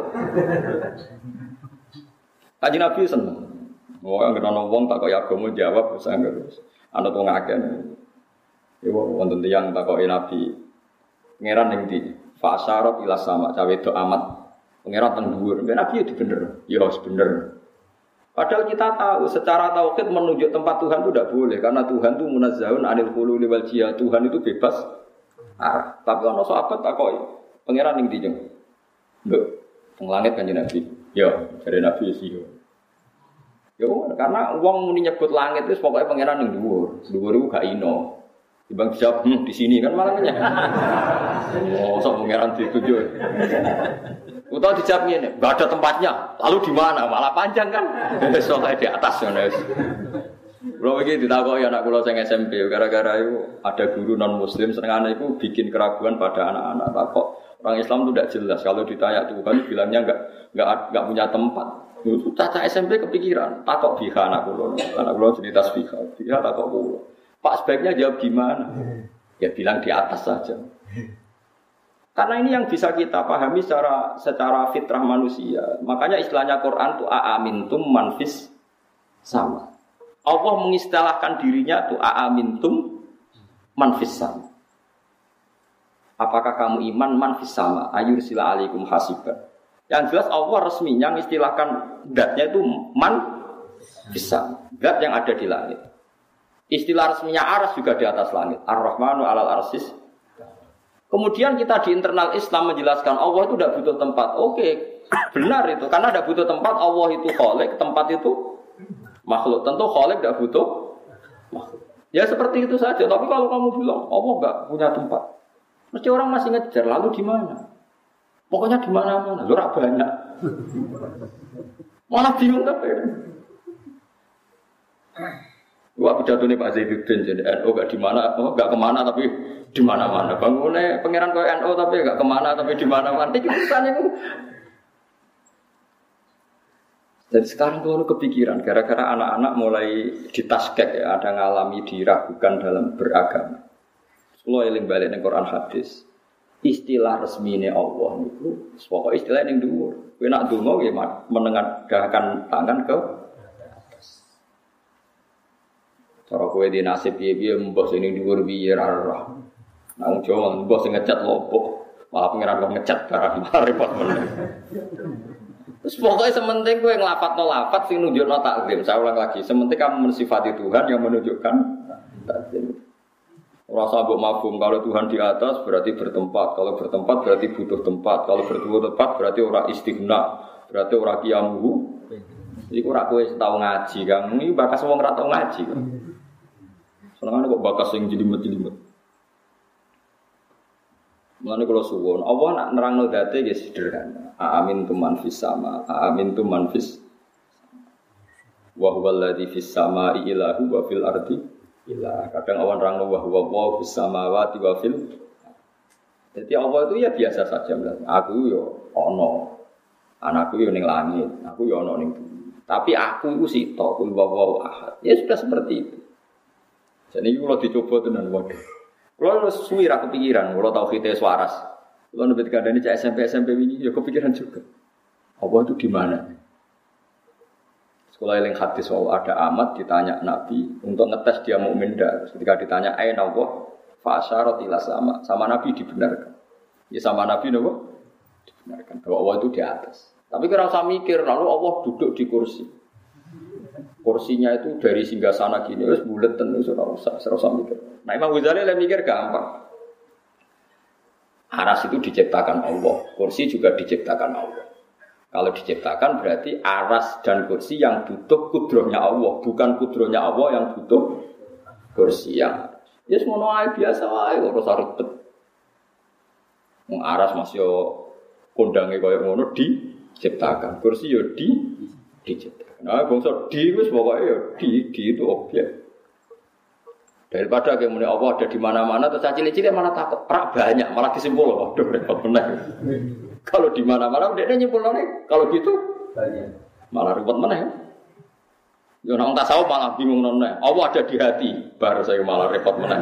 Kanjeng Nabi seneng. Wong anggere ana wong tak kaya agama jawab wis anggere. Ana wong akeh. Iku wonten tiyang takoki Nabi. Pangeran ning ndi? Fa asyarat ila sama, cawe do amat. Pangeran teng dhuwur, Nabi itu bener. Ya harus bener. Padahal kita tahu secara tauhid menunjuk tempat Tuhan itu tidak boleh karena Tuhan itu munazzahun 'anil hululi wal jihad. Tuhan itu bebas arah. Tapi ana sahabat takoki, pangeran ning ndi, Jeng? Lho, teng langit Kanjeng Nabi. Ya, jare Nabi sih. Ya, karena wong muni nyebut langit itu pokoknya pangeran ning dhuwur. Dhuwur iku gak ino. Dibang jawab di sini kan malah nyek. Oh, sok pangeran dituju. Utau dijawab ngene, enggak ada tempatnya. Lalu di mana? Malah panjang kan. Soalnya di atas ngono. Kalau begitu ditakoki anak kula sing SMP gara-gara itu ada guru non muslim senengane itu bikin keraguan pada anak-anak. Takok orang Islam itu tidak jelas kalau ditanya Tuhan bilangnya enggak punya tempat. Itu caca SMP kepikiran takok biha anak kula cerita biha takok kula. Pak sebaiknya jawab gimana? Ya bilang di atas saja. Karena ini yang bisa kita pahami secara fitrah manusia. Makanya istilahnya Quran itu aamintum manfis sama. Allah mengistilahkan dirinya itu aamintum manfis sama. Apakah kamu iman manfis sama? Ayursila alaikum hasiban. Yang jelas Allah resminya mengistilahkan zatnya itu manfis sama. Zat yang ada di langit. Istilah resminya aras juga di atas langit. Ar-Rahmanu alal arsis. Kemudian kita di internal Islam menjelaskan Allah itu tidak butuh tempat. Oke, benar itu. Karena tidak butuh tempat, Allah itu khalik, tempat itu makhluk. Tentu khalik tidak butuh makhluk. Ya seperti itu saja. Tapi kalau kamu bilang Allah enggak punya tempat, mesti orang masih ngejar. Lalu di mana? Pokoknya di mana-mana. Lu banyak. Malah bingung tapi. Wah pidato ini Pak Zaiduddin jadi NU gak di mana, gak kemana tapi di mana-mana. Bangunnya pangeran kau NU tapi gak kemana tapi di mana-mana. Itu urusannya itu. Jadi sekarang tuh kepikiran gara-gara anak-anak mulai ditaskek ya, ada ngalami diragukan dalam beragama. Kalau eling balik ning Quran hadis, istilah resmine Allah niku pokok istilah ning dhuwur. Kowe nak donga nggih menengadahkan tangan ke cara kowe di nasib piye-piye mbah sing ning dhuwur piye ra ora. Nang Jawa mbah sing ngecat lopo, malah pengiran kok ngecat barang repot meneh. Terus pokoknya sementing kowe nglafadzno lafadz sing nunjukno takzim. Saya ulang lagi, sementing kamu mensifati Tuhan yang menunjukkan takzim. Ora usah mbok mafhum kalau Tuhan di atas berarti bertempat, kalau bertempat berarti butuh tempat, kalau butuh tempat berarti ora istighna, berarti ora qiyamuhu. Iku ora kowe tau ngaji, Kang. Iki bakas wong ora tau ngaji. Senengane kok bakas sing jelimet-jelimet. Mulane kula suwun, Allah nak nerangno dzate nggih sederhana. Amin tu man fis sama, amin tu man fis. Wa huwal ladzi fis samai ilahu wa fil ardi ilah. Kadang awan nerangno wa huwa fis samawati wa fil. Jadi Allah itu ya biasa saja bilang, aku yo ono. Anakku yo ning langit, aku yo ono ning bumi. Tapi aku itu sito, kul wawaw ahad. Ya sudah seperti itu. Jadi kalau dicoba tenan waduh. Kalau suwi ra kepikiran, kalau tauhid waras. Kalau nebet kadane cek SMP ini ya kepikiran juga. Allah itu di mana? Sekolah eling hadis bahwa ada amat ditanya Nabi untuk ngetes dia mukmin dak. Ketika ditanya aina Allah fa asyarat ila sama Nabi dibenarkan. Ya sama Nabi napa? Dibenarkan bahwa Allah itu di atas. Tapi kira usah mikir lalu Allah duduk di kursi. Kursinya itu dari singgasana gini wis buleten wis ora usah mikir. Nah Imam Ghazali lek mikir gampang. Aras itu diciptakan Allah, kursi juga diciptakan Allah. Kalau diciptakan berarti aras dan kursi yang butuh kudrohnya Allah, bukan kudrohnya Allah yang butuh kursi yang. Ya semono ae biasa wae ora usah ribet. Wong aras masih kondange koyo ngono diciptakan, kursi yo diciptakan. Nah, bangsa di wis pokoke ya di itu objek. Daripada kayak muni Allah ada di mana-mana terus cilik-cilik malah takut. Rak banyak malah disimpul waduh repot bener. Kalau di mana-mana udah nyimpulane kalau gitu banyak. Malah repot meneh. Yo nek tasawuf malah bingung none. Allah ada di hati, baru saya malah repot meneh.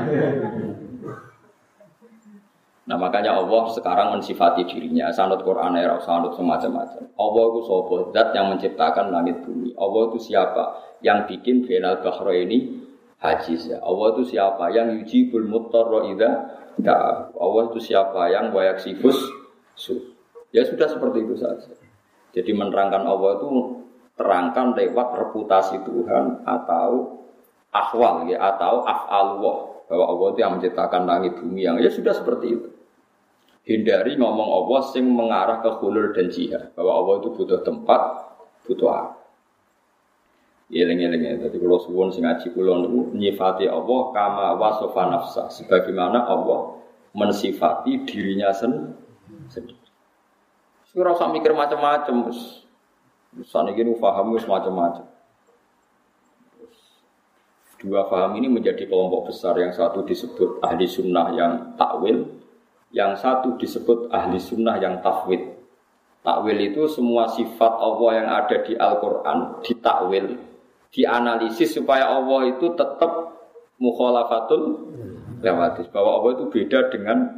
Nah makanya Allah sekarang mensifati dirinya. Sanad Quran era sanad semacam-macam. Allah itu sapa? Zat yang menciptakan langit bumi. Allah itu siapa? Yang bikin bainal bahraini hajiz. Allah itu siapa? Yang yujibul muttarra idza da'a. Allah itu siapa? Yang wayaksifus su. Ya sudah seperti itu saja. Jadi menerangkan Allah itu terangkan lewat reputasi Tuhan atau ahwal ya atau af'alullah. Bahwa Allah itu yang menciptakan langit bumi yang ya sudah seperti itu. Hindari ngomong Allah sing mengarah ke hulul dan jihad. Bahwa Allah itu butuh tempat, butuh apa. Eling-eling ya. Jadi kalau suwun sing ngaji kula niku nyifati Allah kama wasofa nafsa. Sebagaimana Allah mensifati dirinya sendiri. Ora usah mikir macam-macam wis. Saniki nu paham wis macam-macam. Dua paham ini menjadi kelompok besar. Yang satu disebut ahli sunnah yang takwil, yang satu disebut ahli sunnah yang tafwid. Takwil itu semua sifat Allah yang ada di Al-Quran ditakwil, dianalisis supaya Allah itu tetap mukhalafatul lewatis, bahwa Allah itu beda dengan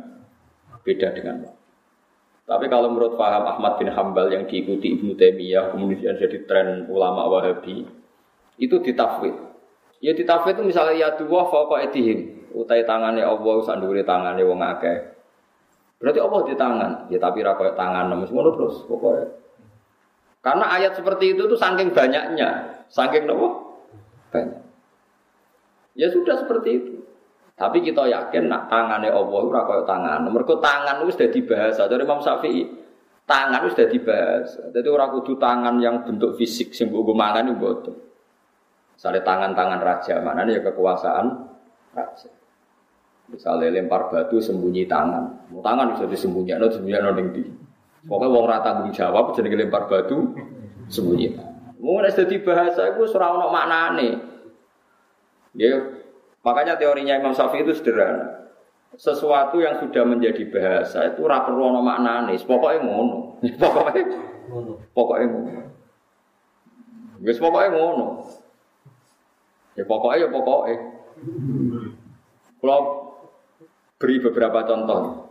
Tapi kalau menurut paham Ahmad bin Hambal yang diikuti Ibnu Taimiyah, kemudian jadi tren ulama Wahabi, itu ditafwid. Ya ditafwid itu misalnya ya dua fauqa aydihim, utai tangannya Allah sandure tangannya wong akeh. Berarti Allah di tangan, ya tapi ra koyo tangan nemes ngono terus pokoknya. Karena ayat seperti itu tuh saking banyaknya, saking nopo? Banyak. Ya sudah seperti itu. Tapi kita yakin nak tangannya Allah ora koyo tangan. Mergo tangan itu sudah dibahas dari Imam Syafi'i. Tangan itu sudah dibahas. Jadi ora kudu tangan yang bentuk fisik sing mbok mangan iku mboten. Misalnya tangan-tangan raja, maknanya ya kekuasaan raja. Misalnya lempar batu sembunyi tangan. Tangan bisa disembunyikan ning ndi. Pokoke wong ora tanggung jawab jenenge lempar batu sembunyi. Wong nek dadi bahasa iku ora ono maknane. Ya. Makanya teorinya Imam Syafi'i itu sederhana. Sesuatu yang sudah menjadi bahasa itu ora perlu ana maknane, pokoke ngono. Pokoke ngono. Wis pokoke ngono. Ya pokoke. Kalau beri beberapa contoh.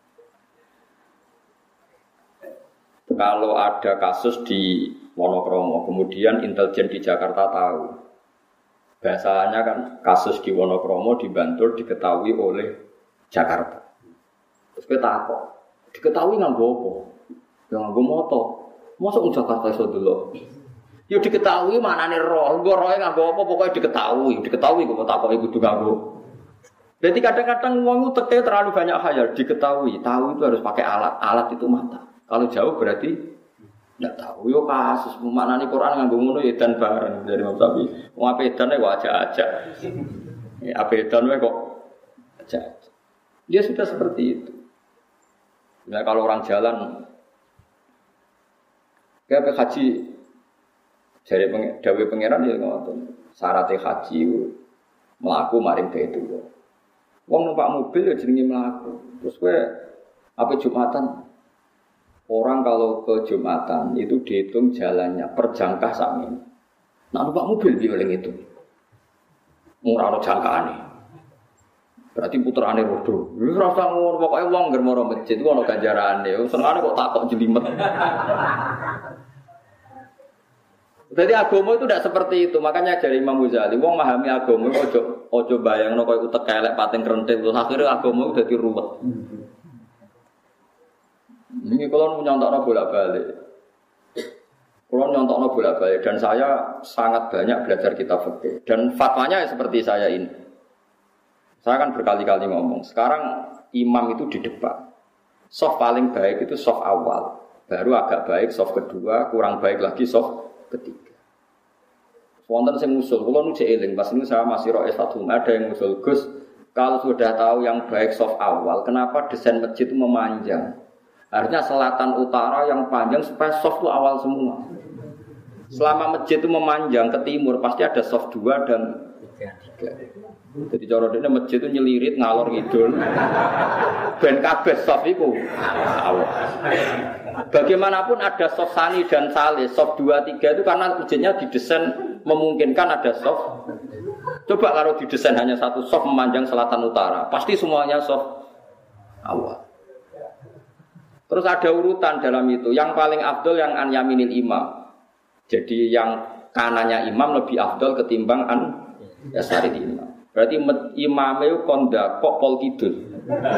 Kalau ada kasus di Wonokromo, kemudian intelijen di Jakarta tahu. Bahasanya kan kasus di Wonokromo di Bantul diketahui oleh Jakarta. Terus kita takut, diketahui nganggo apa? Ya nganggo moto. Mosok Jakarta iso delok. Ya diketahui manane roh, nggo rohe nganggo apa pokoke diketahui kok takoki kudu nganggo. Jadi kadang-kadang wong teke terlalu banyak khayal, diketahui, tahu itu harus pakai alat. Alat itu mata. Kalau jauh berarti tidak tahu. Yo kasus maknane Quran nganggo ngono ya dan bareng dari Imam Syafi'i. Wong apedan wae kok aja. Ya apedan wae kok aja. Dia sudah seperti itu. Nah, kalau orang jalan kayak haji dari dawuh pangeran ya ngoten. Syaratnya haji mlaku maring itu. Wong numpak mobil ya jenenge mlaku. Terus kowe apa Jumatan? Orang kalau ke Jumatan itu dihitung jalannya per jangkah sami. Nah, numpak mobil dioling itu. Ora ono jangkaane. Berarti puterane rodo. Wis rasa ngono pokoke wong ngger maro masjid ku ono ganjarane. Senengane kok takok jelimet. Jadi agama itu tidak seperti itu. Makanya dari Imam Ghazali, wong memahami agama ojo bayangno koyo utek elek pating krenting terus akhire agama itu dadi ruwet. Ini kalau nyontokno bolak-balik. Kalau nyontokno bolak-balik dan saya sangat banyak belajar kitab fikih dan fatwanya seperti saya ini. Saya kan berkali-kali ngomong, sekarang imam itu di depan. Soft paling baik itu soft awal, baru agak baik soft kedua, kurang baik lagi soft ketiga. Wonten sing ngusul, kula nu cek eling, pas niku saya masih roh S1, ada yang ngusul, Gus, kalau sudah tahu yang baik soft awal, kenapa desain masjid itu memanjang? Harusnya selatan utara yang panjang supaya soft itu awal semua. Selama masjid itu memanjang ke timur pasti ada soft 2 dan 3. Jadi cara dene masjid itu nyelirit ngalor ngidul. Ben kabeh soft itu awal. Bagaimanapun ada soft sani dan saleh, soft 2 3 itu karena masjidnya didesain memungkinkan ada soft. Coba kalau didesain hanya satu soft memanjang selatan utara, pasti semuanya soft awal. Terus ada urutan dalam itu. Yang paling afdol yang an yaminil imam. Jadi yang kanannya imam lebih afdol ketimbang an yasari imam. Berarti imam itu kondak kok pol kidul.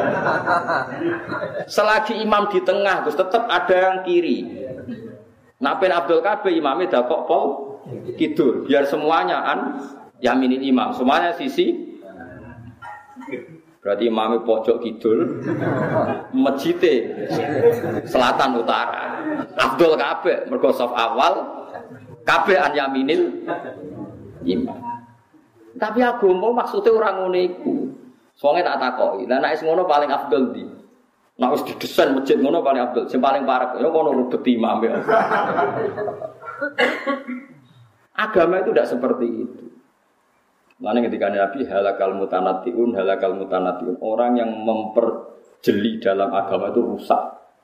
Selagi imam di tengah, terus tetap ada yang kiri. Nah, pen Abdul Kabeh imamnya dah kok pol kidul. Biar semuanya an yaminil imam. Semuanya sisi. Berarti imamnya pojok kidul, masjidnya selatan utara. Abdul Kabeh mergo saf awal, kabeh an yaminil imam. Tapi agama maksudnya orang ngono iku. Soale tak takoki, lah nek ngono paling afdol ndi? Nek wis didesain masjid ngono paling afdol, sing paling parek ya ngono rubet imam ya. Agama itu tidak seperti itu. Lalu ketika Nabi halakal mutanatiun, orang yang memperjeli dalam agama itu rusak.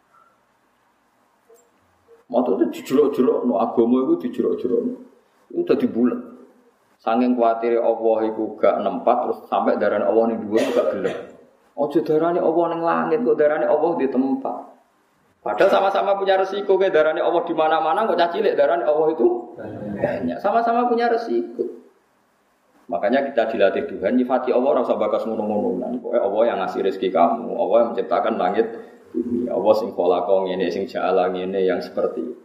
Maksudnya dijuruk-juruk, no agama itu dijuruk-juruk, itu udah dibulat. Saking khawatir Allah itu gak nempat, terus sampai darahnya Allah yang dua gak gelap. Ojo darahnya Allah yang langit, kok darahnya Allah di tempat. Padahal sama-sama punya resiko, kayak darahnya Allah di mana-mana, kok cacilik darahnya Allah itu banyak. Sama-sama punya resiko. Makanya kita dilatih Tuhan, nyifati Allah rasa bakas ngono-ngono. Pokoknya Allah yang ngasih rezeki kamu, Allah yang menciptakan langit bumi, Allah sing kholaqo ngene, sing ja'ala ngene yang seperti itu.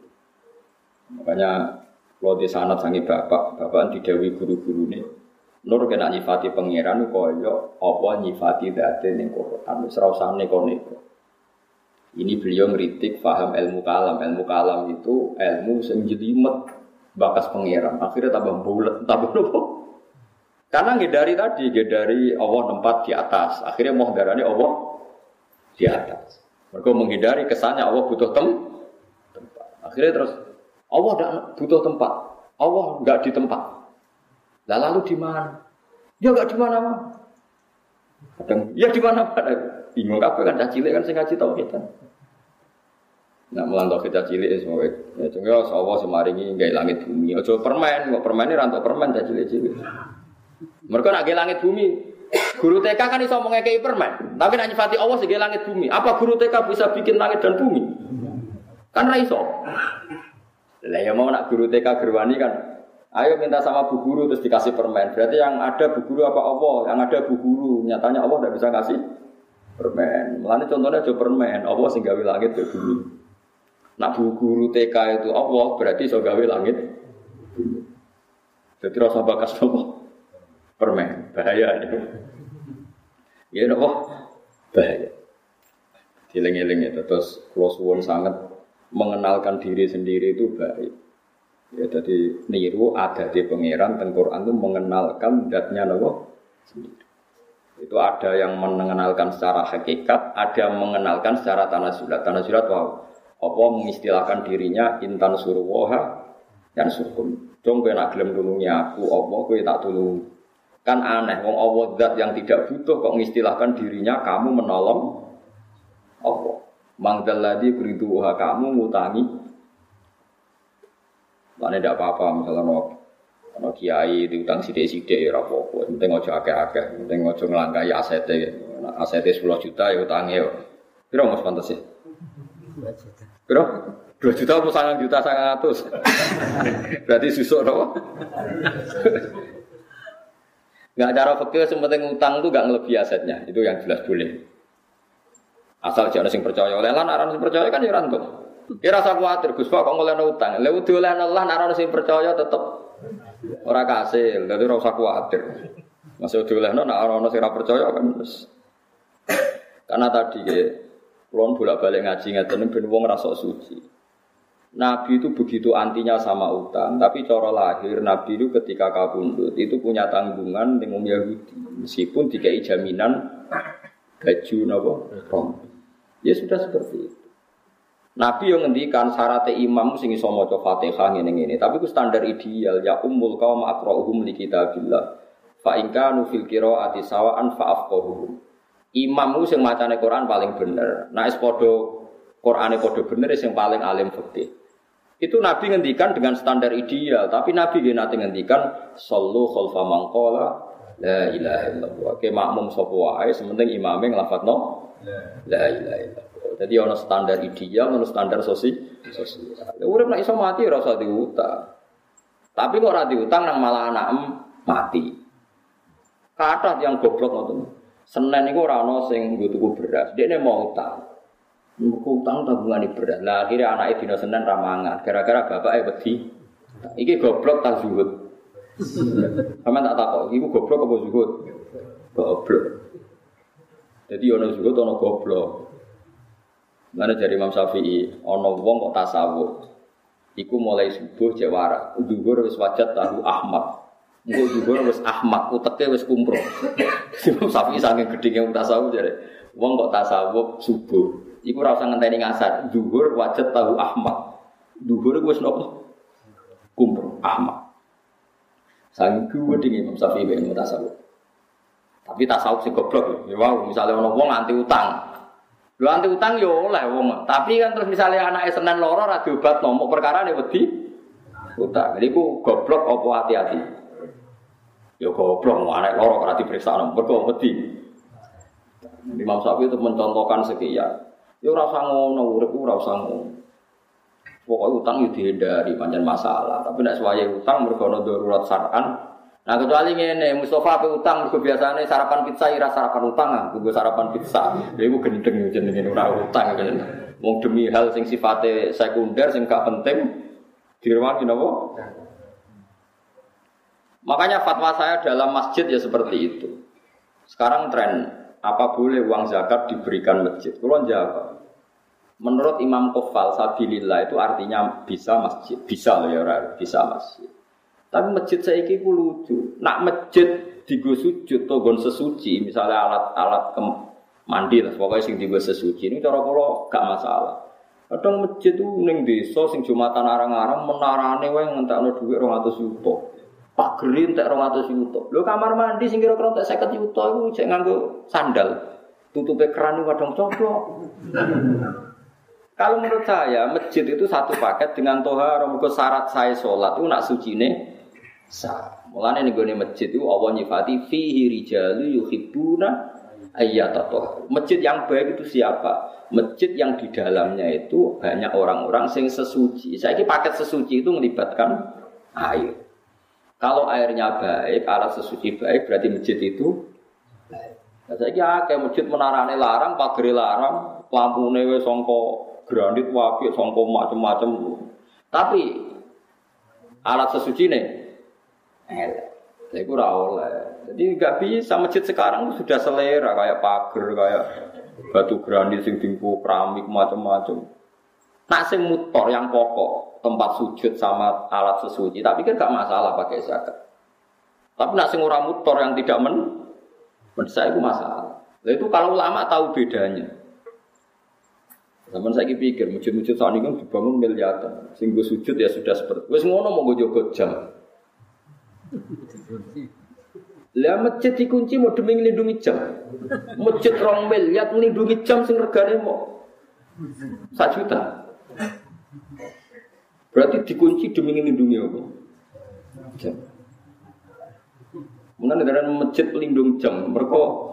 Makanya kalau di sanad sangi bapak didhawuhi guru-gurune, nur kena nyifati pangeran kaya apa nyifati dzate ning Quran, wis ora usah neko-neko. Ini beliau ngritik paham ilmu kalam. Ilmu kalam itu ilmu sing jelimet bakas pangeran. Akhirnya tambah bulet, tambah nopo? Karena ngedari Allah tempat di atas. Akhirnya mau darani Allah di atas. Mereka menghindari kesannya Allah butuh tempat. Akhirnya terus Allah tidak butuh tempat. Allah enggak di tempat. Lah lalu di mana? Ya enggak di mana-mana. Kadang ya di mana-mana. Bingung kabeh kan cah cilik kan sing ngaji tauhid kan. Nah, melantau kita cilik semua. Ya cuma Allah semaringi gawe langit bumi. Aja permen, kok permen ini rantok permen cah cilik-cilik. Mereka nak gawe langit bumi. Guru TK kan iso ngekei permen, tapi nak nyifati Allah sing gawe langit bumi. Apa guru TK bisa bikin langit dan bumi? Kan ra iso. Lah ya mau nak guru TK gerwani kan. Ayo minta sama bu guru terus dikasih permen. Berarti yang ada bu guru apa Allah? Yang ada bu guru. Nyatanya Allah tidak bisa kasih permen. Mulane contohnya aja permen. Allah sing gawe langit dan bumi. Nak bu guru TK itu Allah berarti iso gawe langit bumi. Jadi rasa bakas apa? Permen, bahaya itu. Ya nopo? Bahaya. Dileng-eleng itu terus close one sangat mengenalkan diri sendiri itu baik. Ya jadi niru ada di pangeran teng Quran itu mengenalkan zatnya nopo sendiri. Itu ada yang mengenalkan secara hakikat, ada yang mengenalkan secara tanasulat. Tanasulat wow. Apa mengistilahkan dirinya intan surwaha dan surkum. Jong kowe nak gelem nulungi aku, apa kowe tak tulung. Kan aneh, wong Allah zat yang tidak butuh kok mengistilahkan dirinya kamu menolong Allah. Mangdalladzi beriduha kamu ngutangi. Lan ndak apa-apa misalnya ono kiai diutang sithik-sithik ya ora apa-apa. Penting aja akeh-akeh, penting aja nglangkai asete. Asete 10 juta ya utange yo. Piro Mas pantes e? 2 juta. Piro? 2 juta apa 9 juta 900. Berarti susuk apa? Enggak cara fikih sementing utang itu enggak ngelebihi asetnya. Itu yang jelas boleh. Asal jangan sing percaya oleh lan aran sing percaya kan ya ora entuk. Ya rasa kuwatir Gus kok ngolehno utang. Lha diolehno Allah aran sing percaya tetep ora kasil. Dadi ora usah kuwatir. Masih diolehno nek ana sing ora percaya kan wis. Karena tadi kulon bolak-balik ngaji ngeten ben wong rasa suci. Nabi itu begitu antinya sama utang, tapi cara lahir Nabi itu ketika kabundut itu punya tanggungan dengan Yahudi, meskipun dikai jaminan baju napa rompi. Ya sudah seperti itu. Nabi yang ngendikan syarat imam sing iso maca Fatihah ngene-ngene, tapi itu standar ideal ya ummul qaum aqra'uhum li kitabillah. Fa in kanu fil qira'ati sawa'an fa afqahuhum. Imam ku sing macane Quran paling bener. Nek padha Qur'ane padha bener sing paling alim fikih. Itu Nabi ngendikan dengan standar ideal, tapi Nabi nggih nate ngendikan sallu khalfa man qala la ilaha illallah. Ke makmum sapa wae sementing imame nglafadzno la ilaha illallah. Jadi ana standar ideal, ana standar sosial. Urip nek iso mati ora usah diutang. Tapi kok ora diutang nang malah anak mati. Kathah yang goblok ngoten. Senin iku ora ana sing nggo tuku beras, dekne mau utang. Utang tabungan berat. Lah akhirnya anaknya dina Senin ramangan. Gara-gara bapaknya wedi. Iki goblok tak zuhud. Sampeyan tak takok, iku goblok apa zuhud? Goblok. Jadi ana zuhud ana goblok. Mana dari Imam Syafi'i, ana wong kok tasawuf. Iku mulai subuh cek waras. Zuhur wis wajat tahu Ahmad. Engko zuhur wis Ahmad, uteke wis kumpro. Imam Syafi'i saking gedenge tasawuf jare. Wong kok tasawuf subuh. Iku ora usah ngenteni ngasar. Zuhur wajat tahu Ahmad. Zuhur wis nopo? Kumpul Ahmad. Sang gede Imam Syafi'i ben tasawuf. Tapi tasawuf sing goblok ya. Wow, misale ana wong anti utang. Lho anti utang yo oleh wong. Tapi kan terus misalnya anake Senin loro ora diobatno, mok perkara ne wedi utang. Jadi ku goblok apa hati-hati? Yo goblok anake loro ora diperiksa mergo wedi. Imam Syafi'i itu mencontohkan sekian. Yo ora usah ngono, urip ora usah ngono. Pokoke utang yo dihindari pancen masalah. Tapi nek suwaye utang mergo ana darurat syar'an. Nah kecuali ngene, Mustafa pe utang mergo biasane sarapan pizza ira sarapan utang ah, tunggu sarapan pizza. Lha iku gendeng jenenge ora utang kan. Wong demi hal sing sifate sekunder sing gak penting direwangi napa? Makanya fatwa saya dalam masjid ya seperti itu. Sekarang tren apa boleh uang zakat diberikan masjid? Kulo jawab. Menurut Imam Qofal sabilillah itu artinya bisa masjid, bisa loh ya bisa masjid. Tapi masjid saiki ku lucu. Nak masjid digo sujud to nggon sesuci, misalnya alat-alat mandi lah, pokoknya sing digo sesuci ini cara kula gak masalah. Kadang masjid itu ning desa sing Jumatan arang-arang menarane wae ngentekno dhuwit 200 juta. Pak Gerin entek 200 juta. Lho kamar mandi sing kira-kira entek 50 juta iku cek nganggo sandal. Tutupe keran iku kadang coplok. Kalau menurut saya masjid itu satu paket dengan tohar, mergo syarat saya salat itu nak sucine sah. Mulane ning gone masjid itu Allah nyifati fihi rijalu yuhibbuna ayyatatohar. Masjid yang baik itu siapa? Masjid yang di dalamnya itu banyak orang-orang sing sesuci. Saiki paket sesuci itu melibatkan air. Kalau airnya baik, alat sesuci baik, berarti masjid itu baik. Nah, saiki akeh masjid menarane larang, pagere larang, lampune wis sangka granit apik, sangka macam-macam. Tapi alat sesucine elek. Iku ora oleh. Jadi enggak bisa masjid sekarang sudah selera kayak pagar, kayak batu granit sing tingku keramik macam-macam. Nak sing motor yang pokok, tempat sujud sama alat sesuci, tapi kan enggak masalah pakai zakat. Tapi nak sing ora motor yang tidak saya itu masalah. Lah itu kalau ulama tahu bedanya. Zaman saya pikir masjid-masjid saat ini kan dibangun miliaran, sing go sujud ya sudah seperti. Wis ngono mau go jogo jam. Lah masjid dikunci mau demi nglindungi jam. Masjid 2 miliar nglindungi jam sing regane mau 1 juta. Berarti dikunci demi nglindungi apa? Jam. Mungkin negara masjid pelindung jam, mereka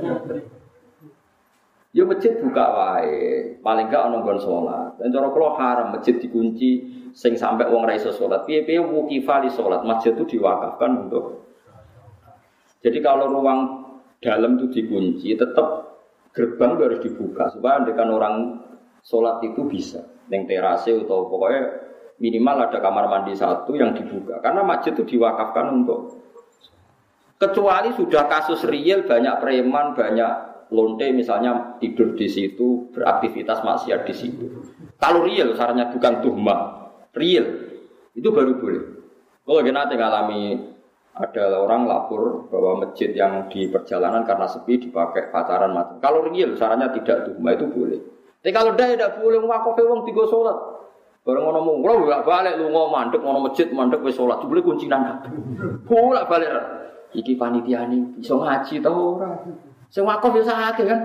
ya masjid buka wae, paling gak ana nggon salat. Dan cara kula haram masjid dikunci sing sampai wong ra iso salat. Piye-piye wuqifa li salat, masjid itu diwakafkan untuk. Jadi kalau ruang dalam itu dikunci, tetap gerbang harus dibuka supaya andekan orang salat itu bisa. Ning terase atau pokoknya minimal ada kamar mandi 1 yang dibuka. Karena masjid itu diwakafkan untuk. Kecuali sudah kasus real banyak preman, banyak lonte misalnya tidur di situ, beraktivitas maksiat di situ. Kalau real sarannya bukan tuhmah, real itu baru boleh. Kalau nanti ngalami ada orang lapor bahwa masjid yang di perjalanan karena sepi dipakai pacaran macam. Kalau real sarannya tidak tuhmah itu boleh. Tapi kalau tidak boleh wakofe wong tiga sholat. Bareng ngono mung, ora balik lunga mandek ngono masjid mandek wis sholat, boleh kunci nang kabeh. Bolak balik. Iki panitiane iso ngaji ta ora? Sing wakaf ya sakake kan.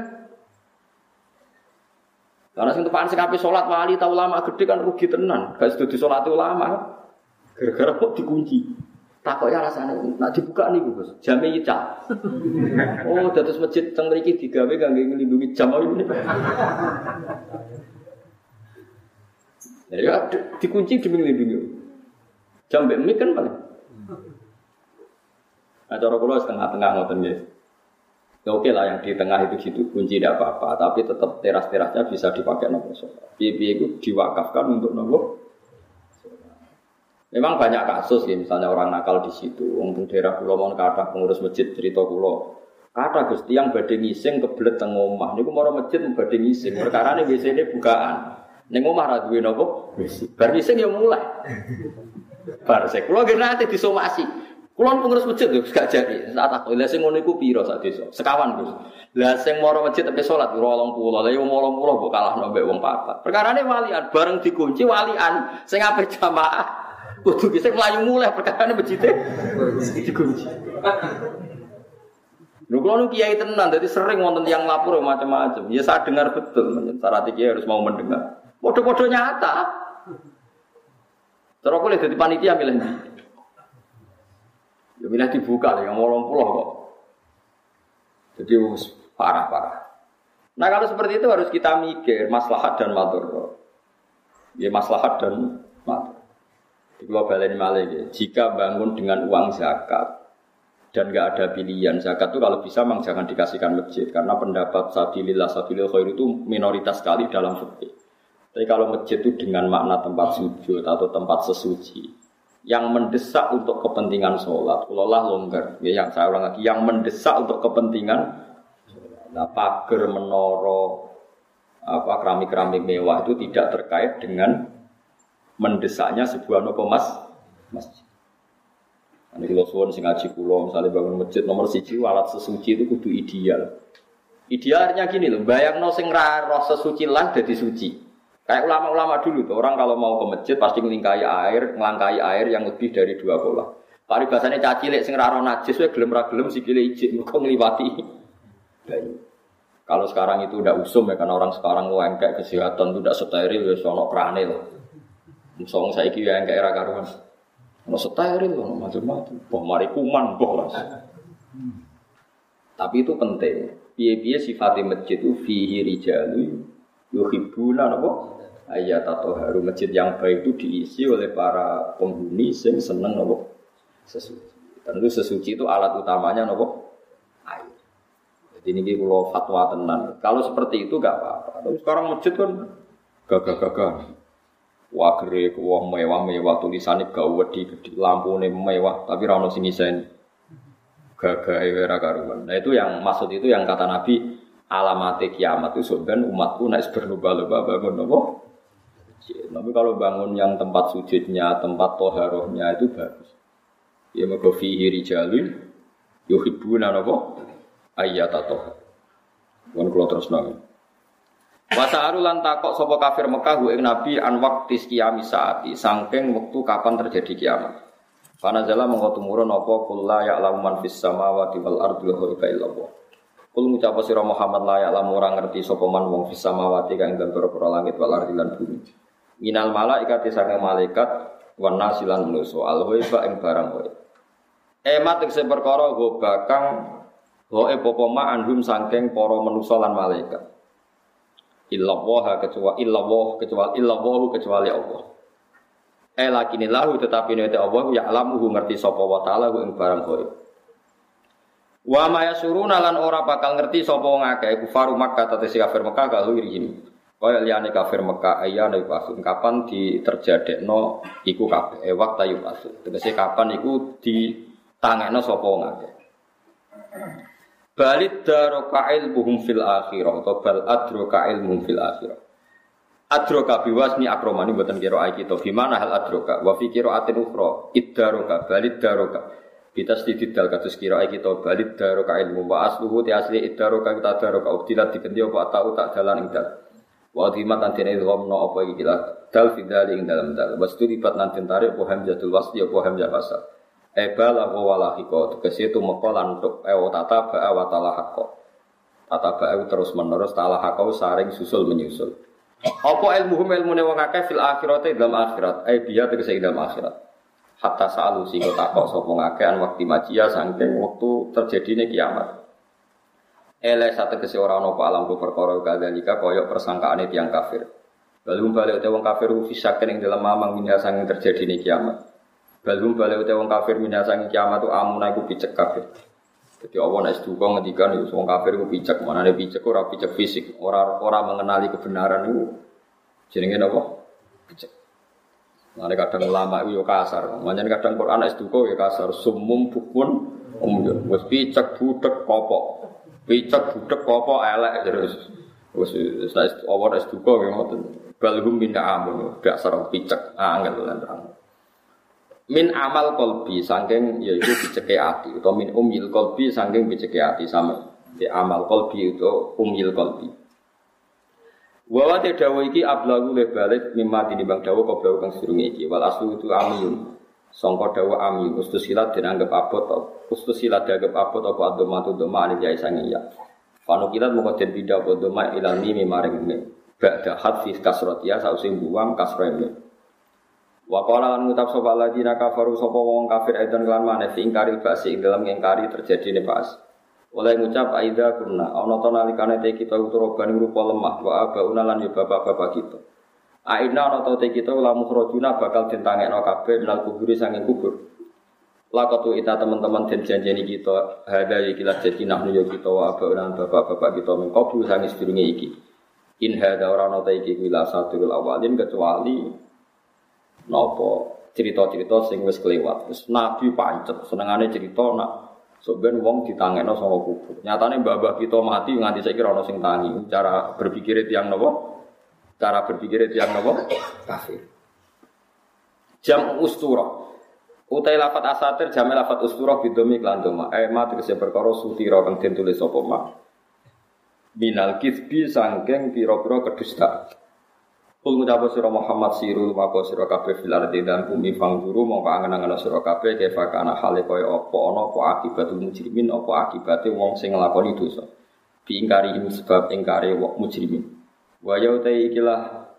Karena sing tepakan sing ape salat wali ta ulama gede kan rugi tenan. Gak sedo disolati ulama. Gara-gara kok dikunci. Takoke rasane nek dibuka niku Gus, jame nyicak. Oh, dados masjid teng mriki digawe kangge nglindungi jam iki. Ya dikunci demi nglindungi. Jam mbek mik kan paling. Nah, cara kula setengah-tengah ngoten nggih. Ya oke lah yang di tengah itu gitu kunci tidak apa-apa, tapi tetap teras-terasnya bisa dipakai nopo sholat. Piye-piye itu diwakafkan untuk nopo. Memang banyak kasus ya, misalnya orang nakal di situ. Untuk daerah Pulau Mon kata pengurus masjid cerita Pulau. Kata Gusti yang badhe ngising kebelet teng omah. Niku mara masjid badhe ngising. Perkarane WC-ne bukaan. Ning omah ra duwe nopo? WC. Bar ngising ya mulai. Bar sek kula nate disomasi. Kulon pengurus masjid lho gak jadi. Saat aku lha sing ngono iku pira sak desa? Sekawan, Gus. Lah sing mara masjid tepe salat 20. Lah yo 80 kok kalahno mbek wong papat. Perkarane walian bareng dikunci walian sing ape jamaah Kudu bisa melayu mulai perkara masjidnya dikunci. Lho kalau kiai tenan, jadi sering wonten yang lapor macam-macam. Ya saya dengar betul, syarat kiai harus mau mendengar. Podo-podo nyata. Terus aku lihat di panitia milih ndi? Ya milih dibuka ya ngolong pulau kok. Jadi parah-parah. Nah kalau seperti itu harus kita mikir maslahat dan madhar. Ya maslahat dan madhar. Di global ini malah jika bangun dengan uang zakat dan enggak ada pilihan zakat itu kalau bisa memang jangan dikasihkan masjid karena pendapat sabilillah khair itu minoritas sekali dalam fikih. Tapi kalau masjid itu dengan makna tempat sujud atau tempat sesuci yang mendesak untuk kepentingan sholat, ulama longgar. Ya, yang saya ulang lagi, yang mendesak untuk kepentingan, nah, pagar, menara, keramik-keramik mewah itu tidak terkait dengan mendesaknya sebuah masjid. Ini kalau suwon sing ngaji kula misalnya bangun masjid nomor 1 alat sesuci itu kudu ideal. Idealnya gini loh, bayangno sing ra roh sesuci lah dadi suci. Kayak ulama-ulama dulu tuh, orang kalau mau ke masjid pasti ngelangkai air yang lebih dari 2 kolah. Paribasane cacilik sing ra roh najis wae gelem ra gelem sikile ijik mergo ngliwati. Kalau sekarang itu udah usum ya karena orang sekarang kayak kesehatan itu udah steril ya sono krane lah. Song saiki ya engke era karuan. Ono steril ono macam-macam. Boh mari kuman boh las. Tapi itu penting. Piye-piye sifate masjid itu fihi rijalu yuhibbuna napa? Ayat atau haru masjid yang baik itu diisi oleh para penghuni yang seneng napa? Sesuci. Tentu sesuci itu alat utamanya napa? Air. Jadi ini kalau fatwa tenan. Kalau seperti itu enggak apa-apa. Tapi sekarang masjid kan gagah-gagah. Wah gere wah mewah tulisane gede lampune mewah tapi ra ono sing ngiseni gagahe ora karuan. Nah itu yang maksud itu yang kata Nabi alamate kiamat itu sebenarnya umatku nek berlomba-lomba bangun apa? Tapi kalau bangun yang tempat sujudnya, tempat toharohnya itu bagus. Ya mergo fihi rijalun yuhibbuna apa? Ayyatatoh. Mun kula terusno. Wasa'aru lan takok sapa kafir Mekah ing Nabi an waqtis qiyamis saati saking wektu kapan terjadi kiamat. Panazala mongko tumurun apa kul la ya'lamu man fis samawati wal ardi ghaiba illallah. Kul ngucap sira Muhammad la ya'lamu ora ngerti sapa man wong fis samawati kang ing dalem langit wal ardi lan bumi. Minal malaikati saking malaikat wan nasilan manusa al ghaiba ing barang ghaib. Emat sing perkara go bakang goe popoma anhum saking para manusa lan malaikat. Illallah kecuali Allah. Lakinillahu tetapi nek Allah ya alamuhu ngerti sapa wa taala ing barang ghaib. Wa ma yasuruna lan ora bakal ngerti sapa wong akeh kufaru Makkah tetesi kafir Makkah kalau irihim. Kaya liyane kafir Makkah ayane pasun kapan diterjadekno iku kabeh waktu yu pasun. Tegese kapan iku ditangekno sapa wong akeh. Balid daroka ilmuhum fil akhirah atau bal adroka ilmuhum fil akhirah. Adroka biwasni akromani buatan kira ayat kita. Gimana hal adroka? Wa fi qiraatin ukhra iddaroka balid daroka. Bitasdidid dal kados kira ayat kita balid daroka ilmu wa asluhu ti asli iddaroka kita daroka ubdilat digendi apa tau tak dalan ing dal. Wa dhimat lan dene ghamna apa iki dal fidali ing dalam dal. Wastu lipat lan tarik apa hamzatul wasli apa hamzah wasal. Ebala walahiko tegese itu mekolan untuk tata ba'a wa talahaqo. Tata ba'a terus menerus talahaqo saring susul menyusul. Apa ilmune wong akeh fil akhirate dalam akhirat. Biya tegese dalam akhirat. Hatta sa'alu sing takok sapa ngakeh an waktu majia saking wektu terjadine kiamat. Sategese ora ana apa alam perkara kadalika kaya persangkaane tiyang kafir. Balung balik wong kafir fisaken ing dalam mamang minha saking terjadine kiamat. Balum balik wong kafir minasang kiamat tu amuna iku picek kafir. Jadi Allah nek duka ngendikan yo wong kafir iku picek, manane picek ora picek fisik, ora mengenali kebenaran iku. Jenenge napa? Picek. Mane kadang ulama iku yo kasar, manjen kadang Quran nek duka yo kasar, sumum bukun wis picek budek kopok. Picek budek kopok elek terus. Wis Allah nek duka yo ngoten. Balhum min amun, dasar picek angel lan terang. Min amal kolbi saking yaitu biceke ati atau min umil kolbi saking biceke ati sama di amal kolbi itu umil kolbi. Wa te dawa iki ablagu le balik mimma tinimbang dawa koblau kang sedurunge iki. Wal aslu itu amiyun. Sangka dawa amiyun ustusilat dianggap abot. Ustusilat dianggap abot apa adomatu doma alif ya sange ya. Panukilat moko den pindah apa doma ilal mimi maring mim. Ba'da hadfi kasratia sause buang kasrene. Wa qala lan ngucap sapa ladina kafaru sapa wong kafir edan kelan maneh fi ingkari basi ing dalam ingkari terjadine bas. Oleh ngucap aida kunna ana ta nalikane te kita uturoban rupa lemah wa abauna lan yo bapak-bapak kita. Aina ana ta te kita lamu khrajuna bakal ditangekno kabeh nal kubur sanging kubur. Lakatu ita teman-teman den janjeni kita hada iki lah jadi nak yo kita wa abauna bapak-bapak kita mengkobu sanging sedurunge iki. In hada ora ana ta iki kuwi satul awalin kecuali nopo cerita-cerita sing wis kelewat. Wis nabi pancet senengane cerita nak sok ben wong ditangekno saka kubur. Nyatane mbah-mbah kita mati nganti saiki ora ono sing tangi. Cara berpikir tiyang napa? Cara berpikir tiyang napa? Kafir. Jam ustura. Utai lafat asatir jam lafat ustura bidomi lan doma. Ma tegese perkara sutira kang den tulis sapa ma. Minal kitsbi sangking pira-pira kedustaan. Kul ngucap sira Muhammad sirul maka sira kabeh fil ardi dan bumi fangguru mongko angen-angen sira kabeh kefa kana hale kaya apa ana apa akibatul mujrimin apa akibate wong sing nglakoni dosa. Diingkari sebab ingkare wong mujrimin. Wa ya utai ikilah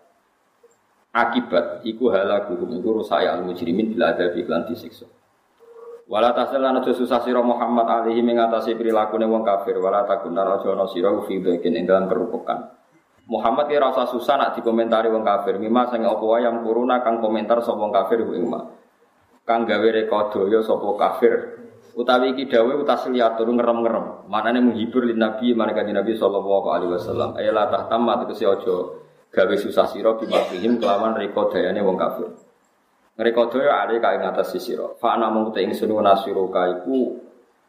akibat iku halaku iku rusak al mujrimin bil adabi lan disiksa. Wala tasalana susah sira Muhammad alaihi mengatasi prilakune wong kafir wala takunar aja ana sira fi dhakin ing dalam kerupukan. Muhammad ki rasa susah nak dikomentari wong kafir. Mima sing apa wae yang kuruna kang komentar sapa wong kafir ing ma. Kang gawe rekodaya sapa kafir. Utawi iki dawuh utasliatur ngerem-ngerem. Manane menghibur lin Nabi marang Nabi sallallahu alaihi wasallam. Ayala tahtamma tegese aja gawe susah sira bimafihim kelawan rekodayane wong kafir. Rekodaya ale kae ngatas sira. Fa ana mung te ingsun nasiruka iku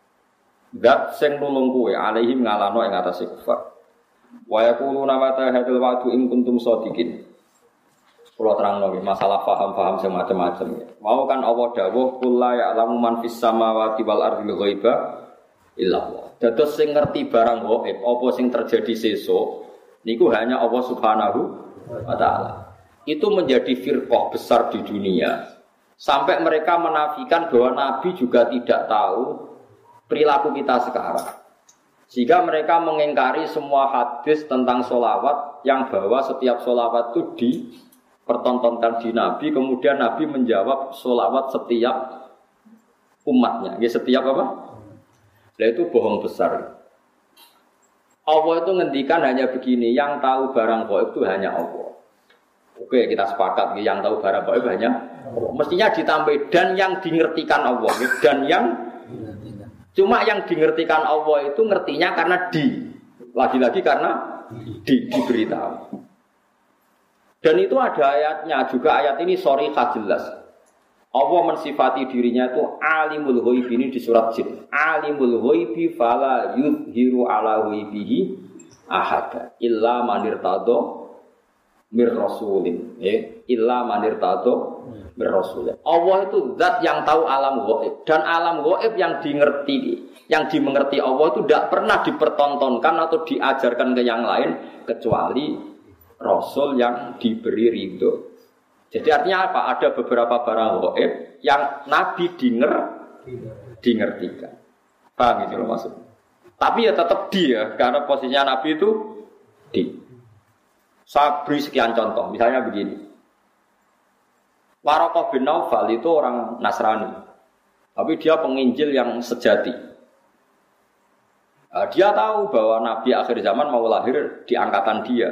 zat sing nulung kowe alaihim ngalano ing atase kufar. Wa yaquluna mata hadzal wa'du in kuntum shadiqin. Kula terangno masalah paham-paham sing macam-macam. Mau kan Allah dawuh kul la ya'lamu man fis samawati wal ardi ghaiba illa Allah. Dados sing ngerti barang gaib apa sing terjadi sesuk niku hanya Allah Subhanahu wa taala. Itu menjadi firqah besar di dunia. Sampai mereka menafikan bahwa Nabi juga tidak tahu perilaku kita sekarang. Sehingga mereka mengingkari semua hadis tentang sholawat yang bahwa setiap sholawat itu dipertontonkan di Nabi. Kemudian Nabi menjawab sholawat setiap umatnya. Ya, setiap apa? Nah, itu bohong besar. Allah itu ngendikan hanya begini, yang tahu barang gaib itu hanya Allah. Oke, kita sepakat yang tahu barang gaib hanya Allah. Mestinya ditambah dan yang dingertikan Allah. Dan yang cuma yang dingertikan Allah itu ngertinya karena lagi-lagi karena diberitahu. Dan itu ada ayatnya juga, ayat ini sharihah jelas. Allah mensifati dirinya itu alimul ghaib ini di surat Jin. Alimul ghaibi fala yudhiru ala ghaibihi ahada illa man irtada mir rasulin. Illa man irtada mir-rasul. Allah itu zat yang tahu alam gaib dan alam gaib yang dimengerti Allah itu tidak pernah dipertontonkan atau diajarkan ke yang lain kecuali rasul yang diberi ridho. Jadi artinya apa? Ada beberapa barang gaib yang Nabi dingertikan. Paham itu loh maksudnya. Tapi ya tetap dia karena posisinya Nabi itu di. Saya beri sekian contoh. Misalnya begini. Waraqah bin Naufal itu orang Nasrani, tapi dia penginjil yang sejati. Dia tahu bahwa Nabi akhir zaman mau lahir di angkatan dia.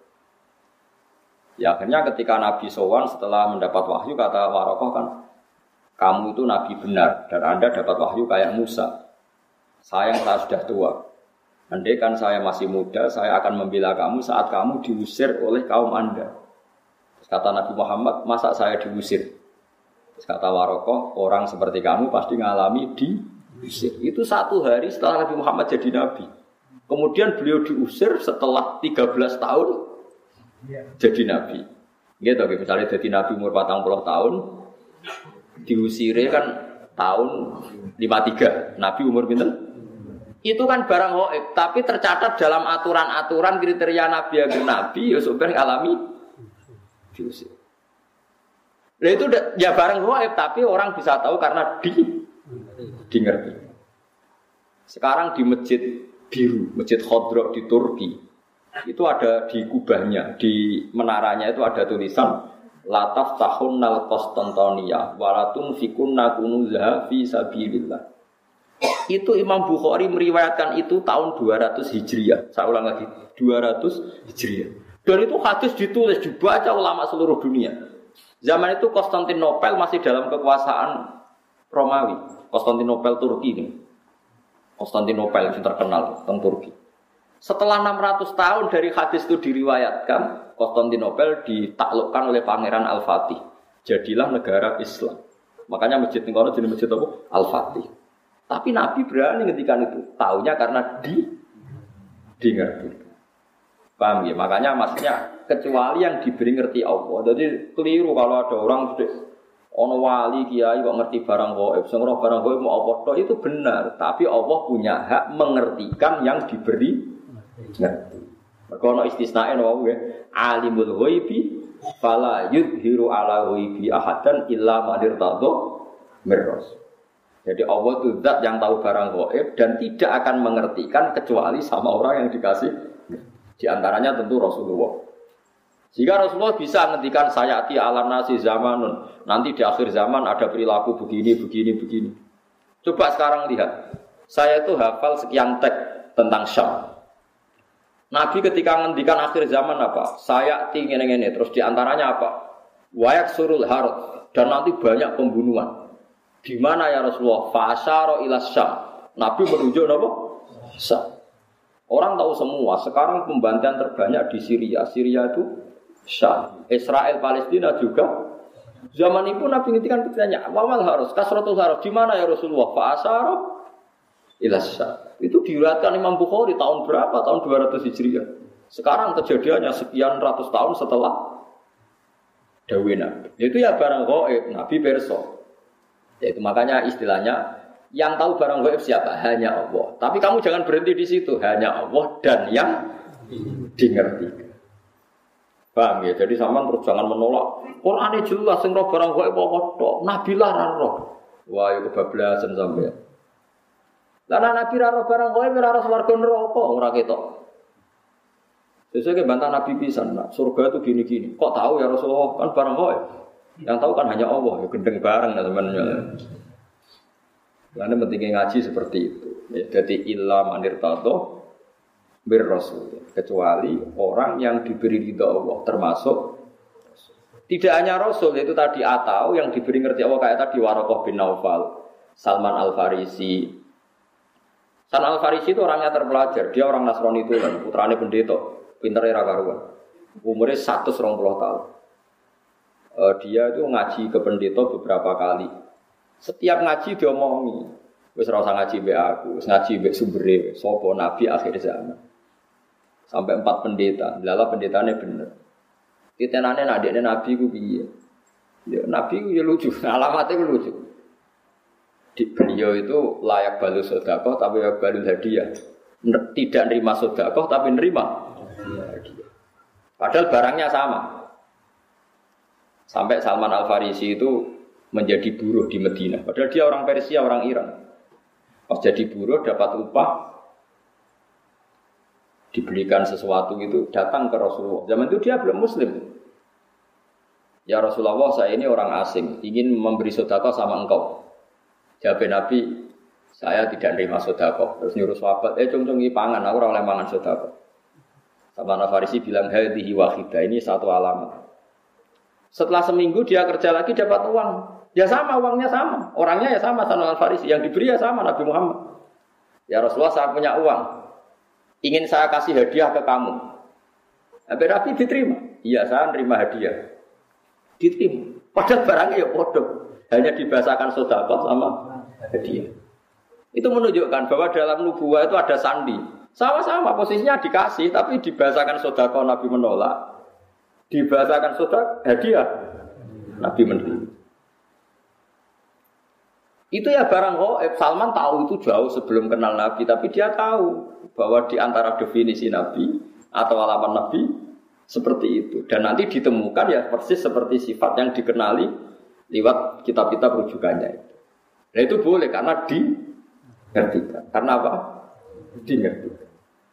Ya, akhirnya ketika Nabi sowan setelah mendapat wahyu, kata Waraqah kan, kamu itu Nabi benar dan Anda dapat wahyu kayak Musa. Sayang saya sudah tua. Andai kan saya masih muda, saya akan membela kamu saat kamu diusir oleh kaum Anda. Kata Nabi Muhammad, masa saya diusir? Kata Waraqah, orang seperti kamu pasti ngalami diusir. Itu 1 hari setelah Nabi Muhammad jadi Nabi. Kemudian beliau diusir setelah 13 tahun jadi Nabi. Gitu, misalnya jadi Nabi umur 40 tahun, diusirnya kan tahun 53. Nabi umur pinten? Itu kan barang gaib, tapi tercatat dalam aturan-aturan kriteria nabi agar nabi ya sebenarnya alami diusir. Nah itu ya barang gaib, tapi orang bisa tahu karena ngerti. Sekarang di Masjid Biru, Masjid Khodro di Turki, itu ada di kubahnya, di menaranya itu ada tulisan Lataf tahunnal Konstantinia walatun fikunna kunuzaha fi sabilillah. Itu Imam Bukhari meriwayatkan itu tahun 200 Hijriah. Saya ulang lagi, 200 Hijriah. Dan itu hadis ditulis, dibaca ulama seluruh dunia. Zaman itu Konstantinopel masih dalam kekuasaan Romawi. Konstantinopel Turki ini. Konstantinopel yang terkenal tentang Turki. Setelah 600 tahun dari hadis itu diriwayatkan, Konstantinopel ditaklukkan oleh Pangeran Al-Fatih. Jadilah negara Islam. Makanya masjid ini jadi masjid apa? Al-Fatih. Tapi Nabi berani ngendikan itu. Taunya karena ngerti. Paham ya? Makanya maksudnya kecuali yang diberi ngerti Allah. Jadi keliru kalau ada orang ono wali kiai kok ngerti barang gaib. Sing ora barang gaib mau apa tok itu benar, tapi Allah punya hak mengertikan yang diberi ngerti. Mergo ono istisnae no wae. Alimul ghaibi fala yudhiru ala ghaibi ahadan illa man irtadha mirras. Jadi Allah itu zat yang tahu barang gaib dan tidak akan mengertikan kecuali sama orang yang dikasih. Di antaranya tentu Rasulullah. Jika Rasulullah bisa menghentikan sayati ala nasi zamanun, nanti di akhir zaman ada perilaku begini. Coba sekarang lihat, saya itu hafal sekian teks tentang Syam. Nabi ketika menghentikan akhir zaman apa? Sayati ngene-ngene, terus di antaranya apa? Wayak surul harut, dan nanti banyak pembunuhan. Di mana ya Rasulullah? Fa'asyara ila Syam. Nabi menunjuk apa? Syam. Orang tahu semua, sekarang pembantaian terbanyak di Syria. Syria itu Syam. Israel Palestina juga. Zaman itu Nabi ngintikan bertanya, "Wamal harus kasratul harus di mana ya Rasulullah?" Fa'asyara ila Syam. Itu diriwayatkan Imam Bukhari tahun berapa? Tahun 200 Hijriah. Sekarang kejadiannya sekian ratus tahun setelah dawuh Nabi. Itu ya barang gaib, Nabi perso. Yaitu makanya istilahnya yang tahu barang gaib siapa? Hanya Allah. Tapi kamu jangan berhenti di situ. Hanya Allah dan yang dimengerti. Paham ya? Jadi sampean terus jangan menolak. Qur'ane jelas sing roh barang gaib apa tok. Nabi lah ra roh. Wah, ya kebablasan sampean. Lah Nabi ra roh barang gaib ora roh swarga neraka ora ketok. Sesuk bantah Nabi pisan, nah, surga itu gini-gini. Kok tahu ya Rasulullah? Kan barang gaib. Yang tahu kan hanya Allah, ya gendeng bareng teman-teman. Karena pentingnya ngaji seperti itu. Ya, jadi illa manirtado bir rasul. Kecuali orang yang diberi ridha Allah, termasuk tidak hanya Rasul itu tadi atau yang diberi ngerti Allah kayak tadi Waraqah bin Naufal, Salman Al Farisi. Salman Al Farisi itu orangnya terpelajar, dia orang Nasrani itu kan, putrane pendeta, pintere ra karuan. Umurnya 120 tahun. Dia itu ngaji ke pendeta beberapa kali. Setiap ngaji dia omongi, wis ora usah ngaji mbek aku, wis ngaji mbek sumbere, sapa nabi akhir zaman. Sampai 4 pendeta, lala pendetane bener. Titenane nak dekne nabi ku piye? Ya nabi ku ya lucu, alamatnya ku lucu. Di beliau itu layak balu sedekah tapi layak balu hadiah. Tidak nerima sedekah tapi nerima hadiah. Padahal barangnya sama. Sampai Salman Al Farisi itu menjadi buruh di Medina. Padahal dia orang Persia, orang Iran. Pas jadi buruh dapat upah, dibelikan sesuatu itu datang ke Rasulullah. Zaman itu dia belum Muslim. Ya Rasulullah, saya ini orang asing, ingin memberi sedekah sama engkau. Jawab Nabi, saya tidak nerima sedekah. Terus nyuruh sahabat, cung-cungi pangan, aku ora oleh mangan sedekah. Salman Al Farisi bilang, hadhihi wahidah, ini satu alamat. Setelah seminggu dia kerja lagi dapat uang. Ya sama, uangnya sama. Orangnya ya sama, Salman Al Farisi. Yang diberi ya sama, Nabi Muhammad. Ya Rasulullah, saya punya uang. Ingin saya kasih hadiah ke kamu. Nabi diterima. Iya, saya nerima hadiah. Diterima. Padahal barangnya ya bodoh. Hanya dibahasakan sedekah sama hadiah. Itu menunjukkan bahwa dalam nubuwah itu ada sandi. Sama-sama posisinya dikasih, tapi dibahasakan sedekah Nabi menolak. Dibahasakan sedekah hadiah Nabi menerima. Itu ya barang gaib. Salman tahu itu jauh sebelum kenal Nabi, tapi dia tahu bahwa di antara definisi Nabi atau alamat Nabi seperti itu. Dan nanti ditemukan ya persis seperti sifat yang dikenali lewat kitab-kitab rujukannya itu. Nah itu boleh karena dimengertikan. Karena apa? Dimengertikan.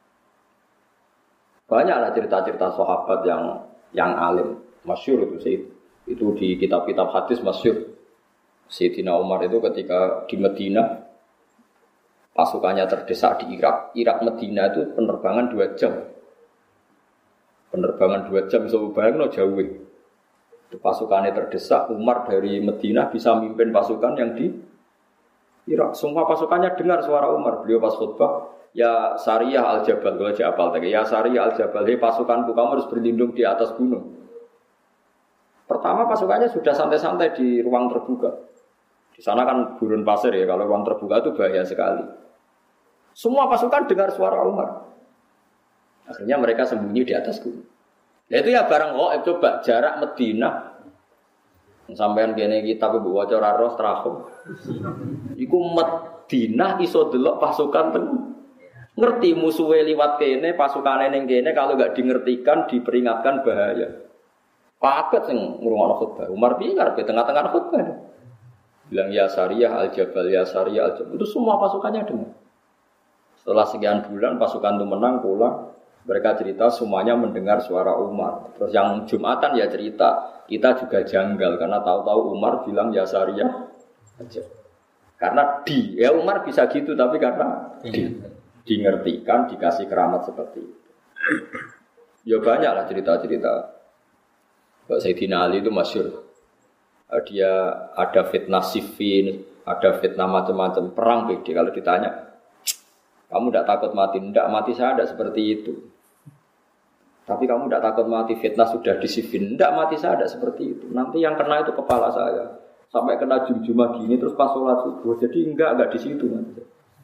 Banyaklah cerita-cerita sahabat yang alim, masyhur itu di kitab-kitab hadis masyhur. Sayyidina Umar itu ketika di Medina pasukannya terdesak di Irak. Irak Medina itu penerbangan 2 jam. Penerbangan 2 jam so bayangno jauh. Itu pasukannya terdesak, Umar dari Medina bisa mimpin pasukan yang di Irak. Semua pasukannya dengar suara Umar. Beliau pas khutbah, ya Sariyah Al-Jabal, kalau apal tadi. Ya Sariyah Al-Jabal, hei pasukanku kamu harus berlindung di atas gunung. Pertama pasukannya sudah santai-santai di ruang terbuka. Di sana kan gurun pasir ya, kalau ruang terbuka itu bahaya sekali. Semua pasukan dengar suara Umar. Akhirnya mereka sembunyi di atas gunung. Nah itu ya barang gaib. Coba jarak Medina. Sampean kene kitab ibu waca ora ros trahum. Iku Medina iso delok pasukan ten. Ngerti musuhe liwat kene, pasukane ning kene kalau enggak dingertikan diperingatkan bahaya. Paket sing ngrungokno khutbah. Umar piye ngarepe tengah-tengah khutbah. Bilang ya Sariyah Al-Jabal, ya Sariyah Al-Jabal. Itu semua pasukannya dengar. Setelah sekian bulan pasukan itu menang pulang. Mereka cerita semuanya mendengar suara Umar. Terus yang Jumatan ya cerita, kita juga janggal karena tahu-tahu Umar bilang ya Sariyah Al-Jabal. Karena ya Umar bisa gitu tapi karena dingertikan, dikasih keramat seperti itu. Ya banyaklah cerita-cerita. Sayyidina Ali itu masyhur. Dia ada fitnah Siffin, ada fitnah macam-macam perang beda. Kalau ditanya, kamu tidak takut mati? Tidak, mati saya tidak seperti itu. Tapi kamu tidak takut mati? Fitnah sudah di Siffin. Tidak, mati saya tidak seperti itu. Nanti yang kena itu kepala saya. Sampai kena jum-jumah gini terus pas sholat subuh. Jadi enggak di situ nanti.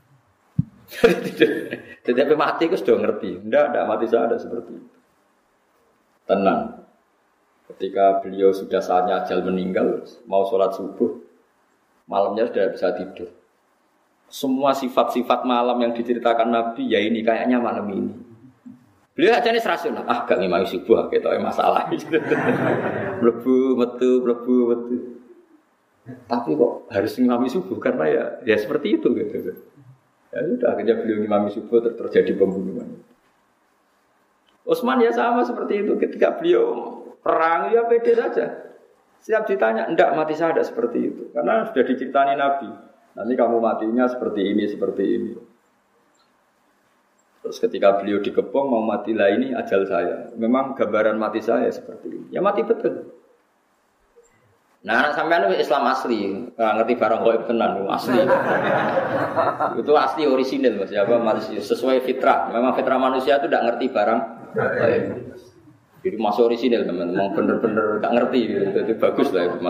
Tetapi mati itu sudah ngerti. Tidak mati saya tidak seperti itu. Tenang. Ketika beliau sudah saatnya ajal meninggal, mau sholat subuh, malamnya sudah bisa tidur. Semua sifat-sifat malam yang diceritakan Nabi, ya ini kayaknya malam ini. Beliau aja nih rasional, gak ngimami subuh, gitu masalah. Mlebu metu. Tapi kok harus ngimami subuh karena ya seperti itu gitu. Ya sudah akhirnya beliau ngimami subuh terjadi pembunuhan. Utsman ya sama seperti itu ketika beliau perang ya pede saja. Siap ditanya, enggak mati saya tidak seperti itu. Karena sudah diceritani Nabi. Nanti kamu matinya seperti ini. Terus ketika beliau dikepung mau mati lah ini ajal saya. Memang gambaran mati saya seperti ini. Ya mati betul. Nah anak sampean itu Islam asli. Ngerti barang gaib tenan asli. Itu asli orisinil Mas. Ya, sesuai fitrah. Memang fitrah manusia itu tidak ngerti barang gaib. Jadi masih orisinil teman-teman, bener-bener gak ngerti gitu. Itu bagus lah itu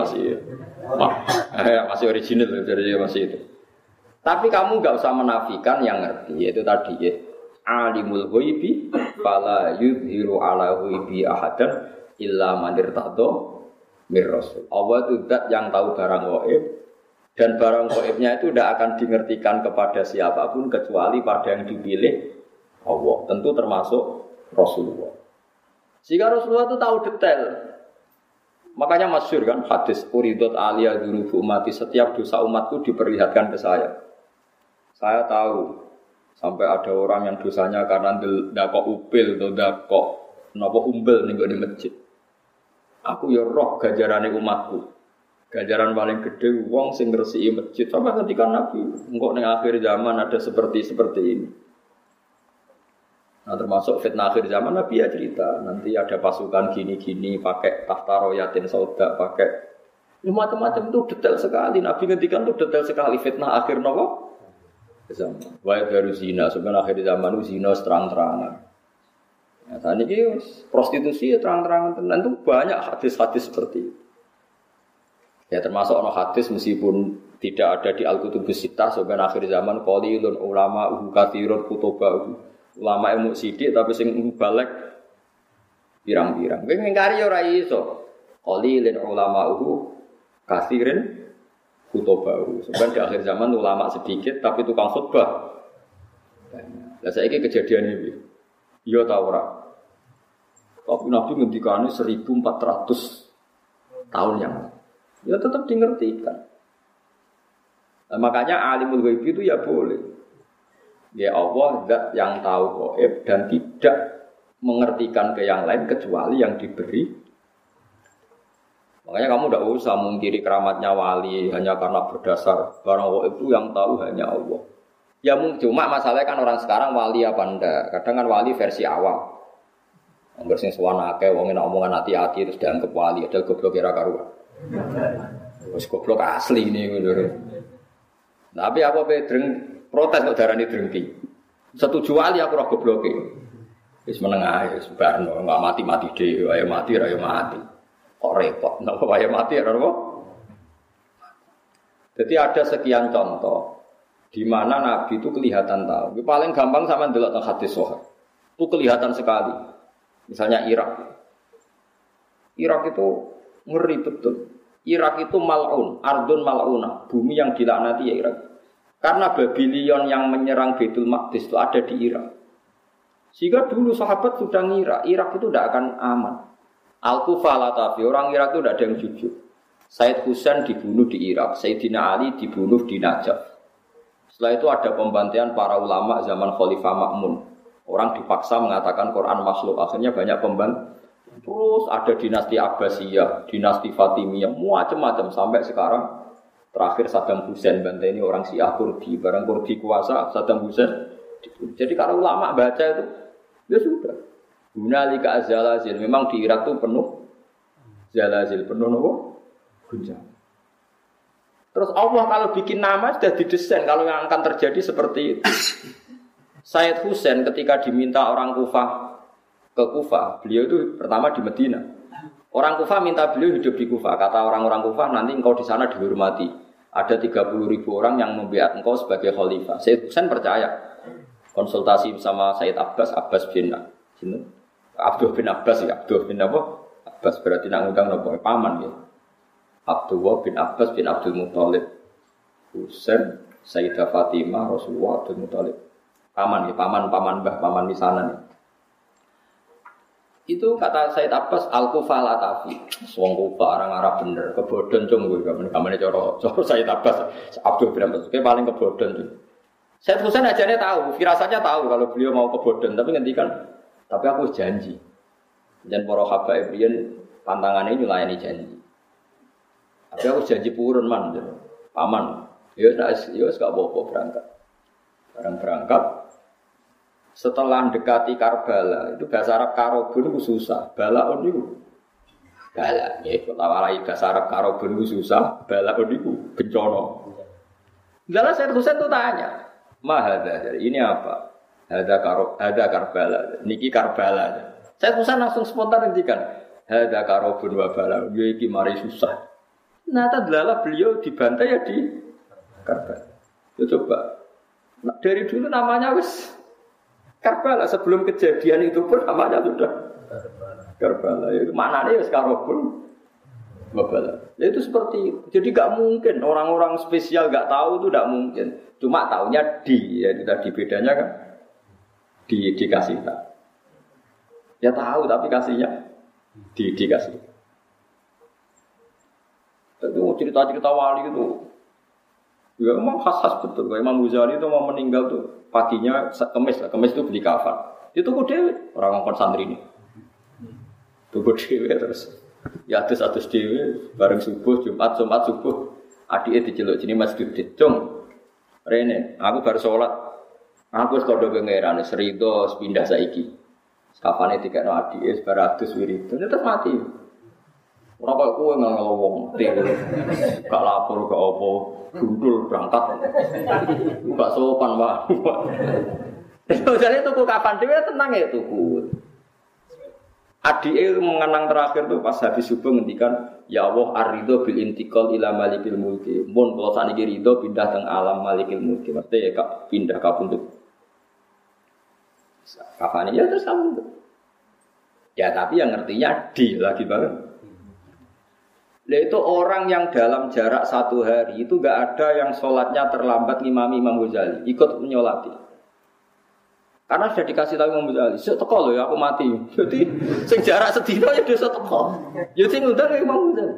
masih orisinil jadi masih itu. Tapi kamu gak usah menafikan yang ngerti, yaitu tadi ya alimul ghaibi fala yudhiru ala ghaibi ahadan illa man irtadha mir rasul. Allah itu zat yang tahu barang gaib dan barang gaibnya itu tidak akan dingertikan kepada siapapun kecuali pada yang dipilih Allah. Tentu termasuk Rasulullah. Jika Rasulullah itu tahu detail, makanya masyhur kan hadis uridot aliyah dunubu umati, setiap dosa umatku diperlihatkan ke saya. Saya tahu sampai ada orang yang dosanya karena ndakok upil atau ndakok napa umbel ning di masjid. Aku ya roh ganjarane umatku. Ganjaran paling gede wong sing ngresiki masjid. Sampai ketika Nabi engko ning akhir zaman ada seperti ini. Nah termasuk fitnah akhir zaman Nabi ya cerita nanti ada pasukan gini-gini pakai tahta royatin sauda pakai macam-macam itu detail sekali. Nabi ngendikan itu detail sekali fitnah akhir nopo zaman. Wae baru zina sebenarnya akhir zaman itu zina terang-terangan. Ya tadi ini prostitusi ya terang-terangan dan itu banyak hadis-hadis seperti itu. Ya termasuk ono hadis meskipun tidak ada di Al-Kutubus Sittah sebenarnya akhir zaman qalilun ulama katsirun kutubah. Ulama ilmu sidik tapi sing balik pirang-pirang. Kowe ngingkari ora iso. Qalilin ulama'uhu katsirin baru. Sebenarnya di akhir zaman ulama sedikit tapi tukang khutbah banyak. Lah saiki kejadian iki. Iya ta ora? Tapi Nabi ngendikane 1400 tahun yang lalu. Ya tetap dimengertikan. Nah, makanya alimul ghaib itu ya boleh. Ya Allah zat yang tahu gaib dan tidak mengertikan ke yang lain kecuali yang diberi. Makanya kamu tidak usah mungkiri keramatnya wali hanya karena berdasar barang gaib itu yang tahu hanya Allah. Ya cuma masalahnya kan orang sekarang wali apa enggak. Kadang kan wali versi awam. Angger sing suwana akeh wong enak omongan hati-hati terus dianggap wali, padahal goblok kira karuan. Wis goblok asli ini ngono. Tapi aku pedreng protes kok darani drengki. Setuju wali aku ora gobloke. Wis meneng ae wis barno, enggak mati-mati dhewe, ayo mati ra yo mati. Kok repot, napa wae mati ora apa? Jadi ada sekian contoh di mana Nabi itu kelihatan tahu. Paling gampang sama ndelok teng hadis sahih. Itu kelihatan sekali. Misalnya Irak. Irak itu ngeri betul. Irak itu mal'un, ardun mal'unah, bumi yang dilaknati ya Irak. Karena Babylon yang menyerang Baitul Maqdis itu ada di Irak. Sehingga dulu sahabat sudah ngira Irak itu tidak akan aman. Al-Kufah Latafi, orang Irak itu tidak ada yang jujur. Said Husain dibunuh di Irak, Sayyidina Ali dibunuh di Najaf. Setelah itu ada pembantaian para ulama zaman Khalifah Ma'mun. Orang dipaksa mengatakan Quran makhluk, akhirnya banyak pembantu. Terus ada dinasti Abbasiyah, dinasti Fatimiyah, macam-macam sampai sekarang terakhir Saddam Hussein bantai ini orang Syiah Kurdi, barang Kurdi kuasa Saddam Hussein. Jadi kalau ulama baca itu, ya sudah. Hunalika az-zalazil, memang di Irak itu penuh zalazil, penuh apa? Guncangan. Terus Allah kalau bikin nama sudah didesain kalau yang akan terjadi seperti itu. Said Hussein ketika diminta orang Kufah ke Kufah, beliau itu pertama di Medina. Orang Kufah minta beliau hidup di Kufah. Kata orang-orang Kufah, nanti engkau di sana dihormati. Ada 30.000 orang yang membiat engkau sebagai khalifah. Said Hussein percaya. Konsultasi sama Said Abbas bin Abdul bin Abbas ya. Abdul bin apa? Abbas berarti nak ngundang nopo paman ya. Abdullah bin Abbas bin Abdul Muthalib. Hussein, Sayyidah Fatimah, Rasulullah Abdul Muthalib. Paman ya, paman mbah, paman misanan ya. Itu kata Said Abbas Al-Kufah Latafi. Wong Kufah orang Arab bener, kebodhon cung kuwi kamane cara Said Abbas Abdul bin Abbas ki paling kebodhon cung. Said Husain ajane tahu, firasatnya tahu kalau beliau mau kebodhon, tapi ngendikan tapi aku janji. Dan para habaib riyen pantangannya nyulayani janji. Tapi aku janji purun man, paman. Ya wis gak apa-apa berangkat. Barang berangkat setelah dekati Karbala, itu bahasa Arab karobun itu susah. Balaun itu bala, ya kalau bahasa Arab karobun itu susah. Balaun itu bencana. Lalu Said Husain itu tanya, mahada, ini apa? Ada Karbala, niki Karbala. Said Husain langsung spontan ngendikan, ada karobun wa bala, iki mari susah. Nah, tadlala beliau dibantai ya di Karbala. Ya coba, nah, dari dulu namanya wis Karbala, sebelum kejadian itu pun namanya sudah Karbala. Itu maknanya wis karobun wa bala. Ya itu seperti itu. Jadi gak mungkin orang-orang spesial gak tahu itu gak mungkin. Cuma taunya ya itu tadi bedanya kan dikasih tahu. Ya tahu tapi kasihnya dikasih. Itu cerita-cerita wali itu ya memang khas-khas betul. Kayak Imam Ghazali itu mau meninggal tuh paginya kemis itu beli kafan. Itu kok dewe orang ngongkon santri ini. Tuku dewe terus ya atus dewe bareng subuh Jumat subuh adike diceluk jenenge Mas Dudit. Cung. Rene, aku baru sholat. Aku wis kodho pangeran serido pindah saiki. Kafane dikekno adike sebaratus wiridan terus mati. Ora kok kowe ngelowong te. Gak lapor gak apa, gundul berangkat. Gak sopan, Pak. Jadi tuku kapan dhewe tenang ya tuku. Adike mengenang terakhir tuh pas habis subuh ngendikan, ya Allah ar-ridho bil intiqal ila malikil mulki. Mun kula saniki ridho pindah teng alam malikil mulki. Mesti ya kak pindah kapundhut. Kafane ya terus kamu. Ya tapi yang ngertinya di lagi banget. Itu orang yang dalam jarak 1 hari itu enggak ada yang sholatnya terlambat ngimami Imam Ghazali, ikut menyolati. Karena sudah dikasih tahu Imam Ghazali, "Sik teko lho ya aku mati." Jadi sing jarak sedina ya desa teko. Ya sing ngundang Imam Ghazali.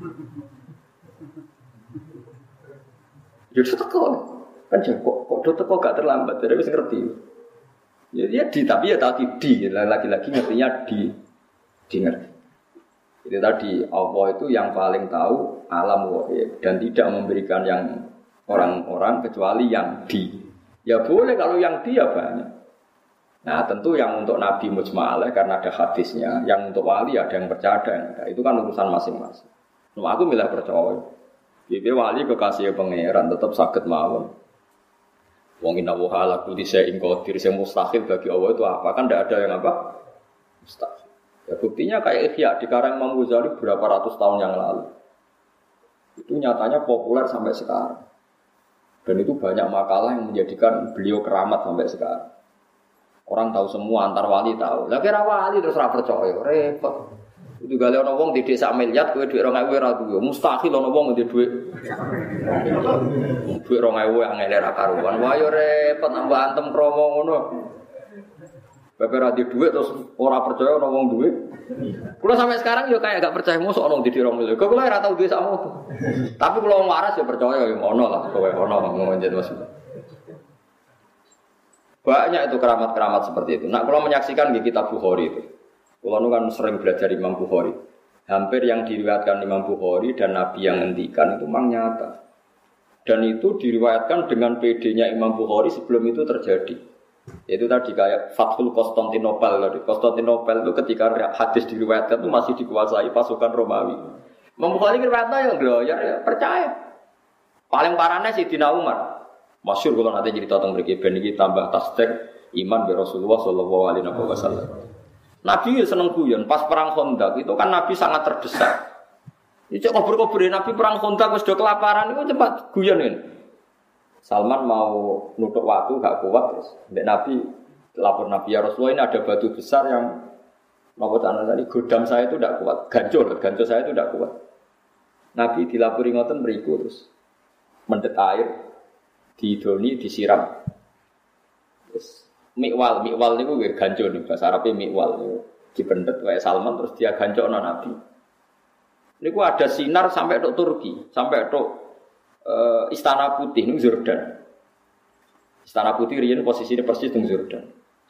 Ya teko. Kan kok do teko gak terlambat, jadi wis ngerti. Ya dia tapi ya tadi lagi-lagi ngertinya di ngerti. Jadi tadi Allah itu yang paling tahu alam ghaib dan tidak memberikan yang orang-orang kecuali yang di. Ya boleh kalau yang di ya banyak. Nah tentu yang untuk Nabi mujma'alah karena ada hadisnya, yang untuk wali ada yang percaya ada yang enggak. Itu kan urusan masing-masing. Cuma aku milih percaya. Jadi wali kekasih pangeran tetap sakit mawon. Wong inna wa ala kulli syai'in qadir, yang mustahil bagi Allah itu apa? Kan tidak ada yang apa? Mustahil. Ya, buktinya kayak Ihya di karang Imam Ghazali berapa ratus tahun yang lalu. Itu nyatanya populer sampai sekarang. Dan itu banyak makalah yang menjadikan beliau keramat sampai sekarang. Orang tahu semua, antar wali tahu. Lah kira wali terus ora percaya, repot. Itu gale ana wong di desa miliar kowe dhuwit 2000 ora duwe. Mustahil ana wong di dhuwit. Dhuwit 2000 angel ora karuan. Wah yo repot nambah antem kromo ngono. Bapak radi duit terus orang percaya orang wong duit. Kalau sampai sekarang yo kayak gak percaya musuh orang di dirong miliar. Kalau ora tau duit sama itu. Tapi kalau waras ya percaya yo ngono lah. Kowe ono ngonjen Mas. Banyak itu keramat-keramat seperti itu. Nah, kalau menyaksikan di kitab Bukhari itu. Kalau nu kan sering belajar Imam Bukhari. Hampir yang diriwayatkan Imam Bukhari dan Nabi yang ngendikan itu memang nyata. Dan itu diriwayatkan dengan PD-nya Imam Bukhari sebelum itu terjadi. Itu tadi kayak Fathul Konstantinopel tadi. Konstantinopel itu ketika hadis diriwayatkan itu masih dikuasai pasukan Romawi. Imam Bukhari riwayatnya yang gloyer ya percaya. Paling parahnya Sayyidina Umar. Masyhur kalau nanti jadi tentang mriki ben iki tambah tasdik iman bi Rasulullah sallallahu alaihi wasallam. Nabi seneng guyon pas perang Khandaq itu kan Nabi sangat terdesak. Iki cek kubur-kubur Nabi perang Khandaq wis do kelaparan itu cepat guyon ini. Salman mau nutuk waktu gak kuat terus. Nabi lapor Nabi ya Rasulullah ini ada batu besar yang mau tadi godam saya itu tidak kuat, gancur saya itu tidak kuat. Nabi dilapori ngoten mriku terus mendet air didoni disiram. Terus mikwal niku nggih gancur nih bahasa Arabe mikwal niku dipendet wae Salman terus dia gancokno Nabi. Niku ada sinar sampai tok Turki, sampai tok Istana Putih ning Jordan. Istana Putih riyen posisine persis ning Jordan.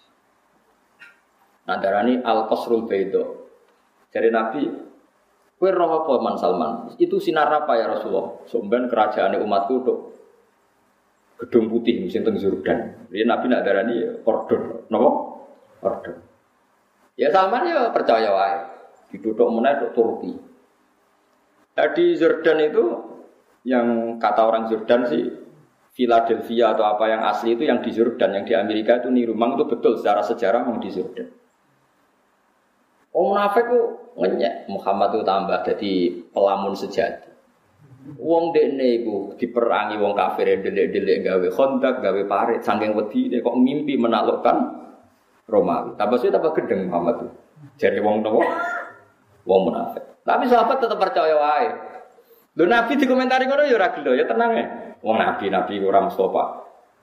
Nadarani Al-Qasrul Baida. Jare Nabi, kowe roh apa Man Salman? Itu sinar apa ya Rasulullah? Sampeyan kerajaane umatku tok Gedung Putih sing teng Jordan. Riyen Nabi nak darani ya ordon. Napa? Ordon. Ya Salman ya percaya wae. Dituthuk meneh tok Turki. Di Jordan itu yang kata orang Jordan sih Philadelphia atau apa yang asli itu yang di Jordan, yang di Amerika itu niru. Memang itu betul secara sejarah memang di Jordan. Munafik itu ngenyek Muhammad itu tambah jadi pelamun sejati. Wong dekne iku diperangi wong kafir delik-delik gawe Khandaq, gawe parit saking wedine kok mimpi menaklukkan Romawi. Tambah suwe tambah gedeng Muhammad itu. Jare wong nopo? Wong munafik. Tapi sahabat tetap percaya wae. Lho Nabi dikomentari ngono ya ora gelo, ya tenang ya. Wong nabi ora Mustafa.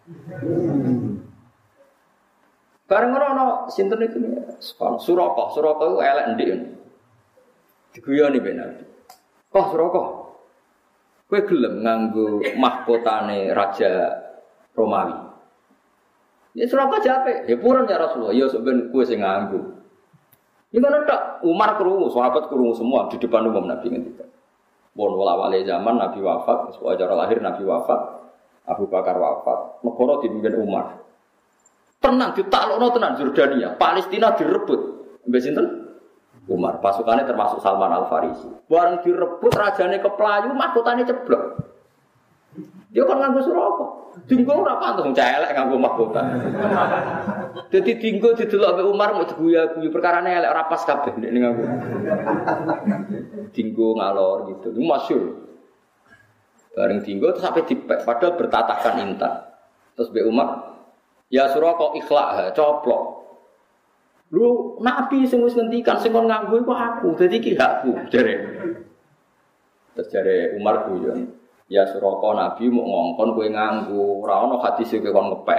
Bareng ngono ana sinten iku Suraka iku elek ndik. Diguyoni ben Nabi. Kok Suraka? Kowe gelem nganggo mahkotane raja Romawi. Ya Suraka jape, ya purun ya Rasulullah, ya sampeyan kowe sing nganggo. Iki ngono tok, Umar krungu, sahabat krungu semua di depan umum Nabi ngendika. Bon wala-wale zaman Nabi wafat, sewajar lahir Nabi wafat, Abu Bakar wafat, negara dipimpin Umar. Tenang ditaklukno tenan Jordania, Palestina direbut. Mbek sinten? Umar. Pasukannya termasuk Salman Al-Farisi. Bareng direbut rajane keplayu, mahkotane ceblok. Dia kan nganggo Suraka. Dinggo ora pantes celek nganggo mahkota. Dadi dinggo didelok mbek Umar mau diguyu-guyu perkarane elek ora pas kabeh nek nganggo. Dinggo ngalor gitu. Itu masyhur. Bareng dinggo terus sampai dipek padahal bertatahkan intan. Terus mbek Umar, ya Suraka ikhlak, coplok. Lu Nabi sing wis ngendikan sing kon nganggo iku aku, dadi iki hakku jare. Terus jare Umar guyon, ya Suraka Nabi mau ngongkon kowe nganggo, ora ono hadis kowe kon ngepek.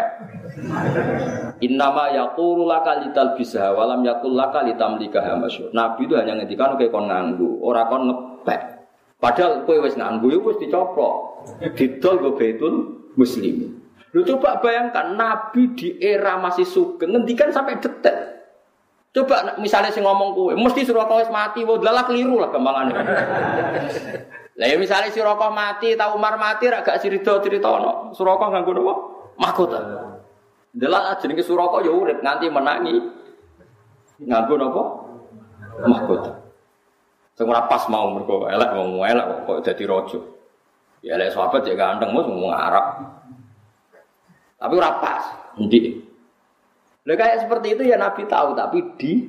Innama yaqulu laka litalbisha wa lam yaqul laka litamlikaha masyhur. Nabi itu hanya ngendikan kowe kon nganggo, ora kon ngepek. Padahal kowe wis nganggo ya wis dicoplok. Didol go Baitul Muslimin. Lu coba bayangkan Nabi di era masih sugeng ngendikan sampai detik. Coba misalnya sing ngomong kowe, mesti Suraka wis mati, wah dalah keliru lah gampangane. Lah ya misalnya Suraka mati, ta Umar mati ra gak crita-critono. Suraka nganggo napa? Mahkota. Dalah jenenge Suraka ya urip nganti menangi. Nganggo napa? Mahkota. Sing ora pas mau mergo elek wong elek kok dadi raja. Ya elek sahabat ya ganteng mos ngomong Arab. Tapi ora pas, ndik. Lah kayak seperti itu ya Nabi tahu tapi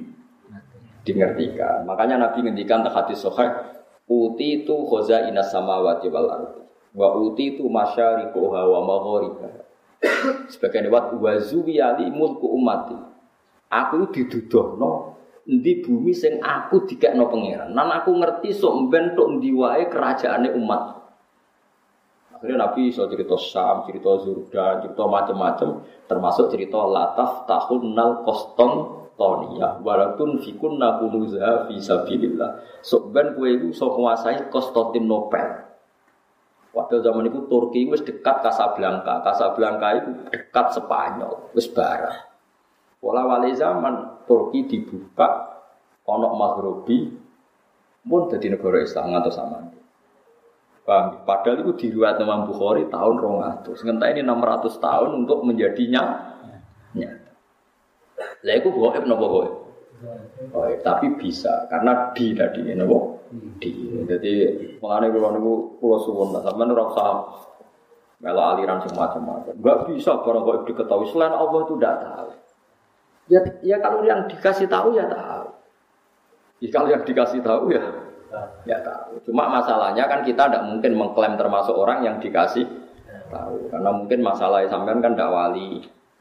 dingertikan. Makanya Nabi ngendikan teng hadis sahih, uti itu khazainas samawati wal ardi. Wa uti itu masyariquha wa magharibaha. Sebagian riwayat wa zuwiyali mulku ummati. Aku didudohno endi bumi sing aku dikekno pangeran. Nan aku ngerti sok mben tok endi wae kerajaane umat. Akhirnya Nabi iso cerita Syam, cerita Zurdan, cerita macam-macam, termasuk cerita Lataf Tahunnal Qostontonia, walatun fikunna kunuza fi sabilillah. Sok ben kowe iku iso nguasai Konstantinopel. Padahal zaman itu Turki wis dekat Casablanca. Casablanca itu dekat Spanyol, wis barang. Pola wali zaman Turki dibuka ana Maghribi pun dadi negara Islam ngantos sampeyan. Padahal itu diriwayat Imam Bukhari tahun 200. Ngenteni ini 600 tahun untuk menjadinya nyata. Lah iku gaib napa gaib? Gaib, tapi bisa karena tadi napa? Jadi mengane kula niku kula suwun sampeyan ora usah melo aliran semacam-macam. Enggak bisa barang gaib diketahui selain Allah itu tidak tahu. Ya kalau yang dikasih tahu ya tahu. Ya kalau yang dikasih tahu ya tahu. Cuma masalahnya kan kita tidak mungkin mengklaim termasuk orang yang dikasih tahu. Karena mungkin masalah sampean kan tidak wali.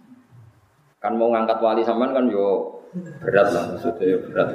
Kan mau ngangkat wali sampean kan yo berat lah maksudnya berat.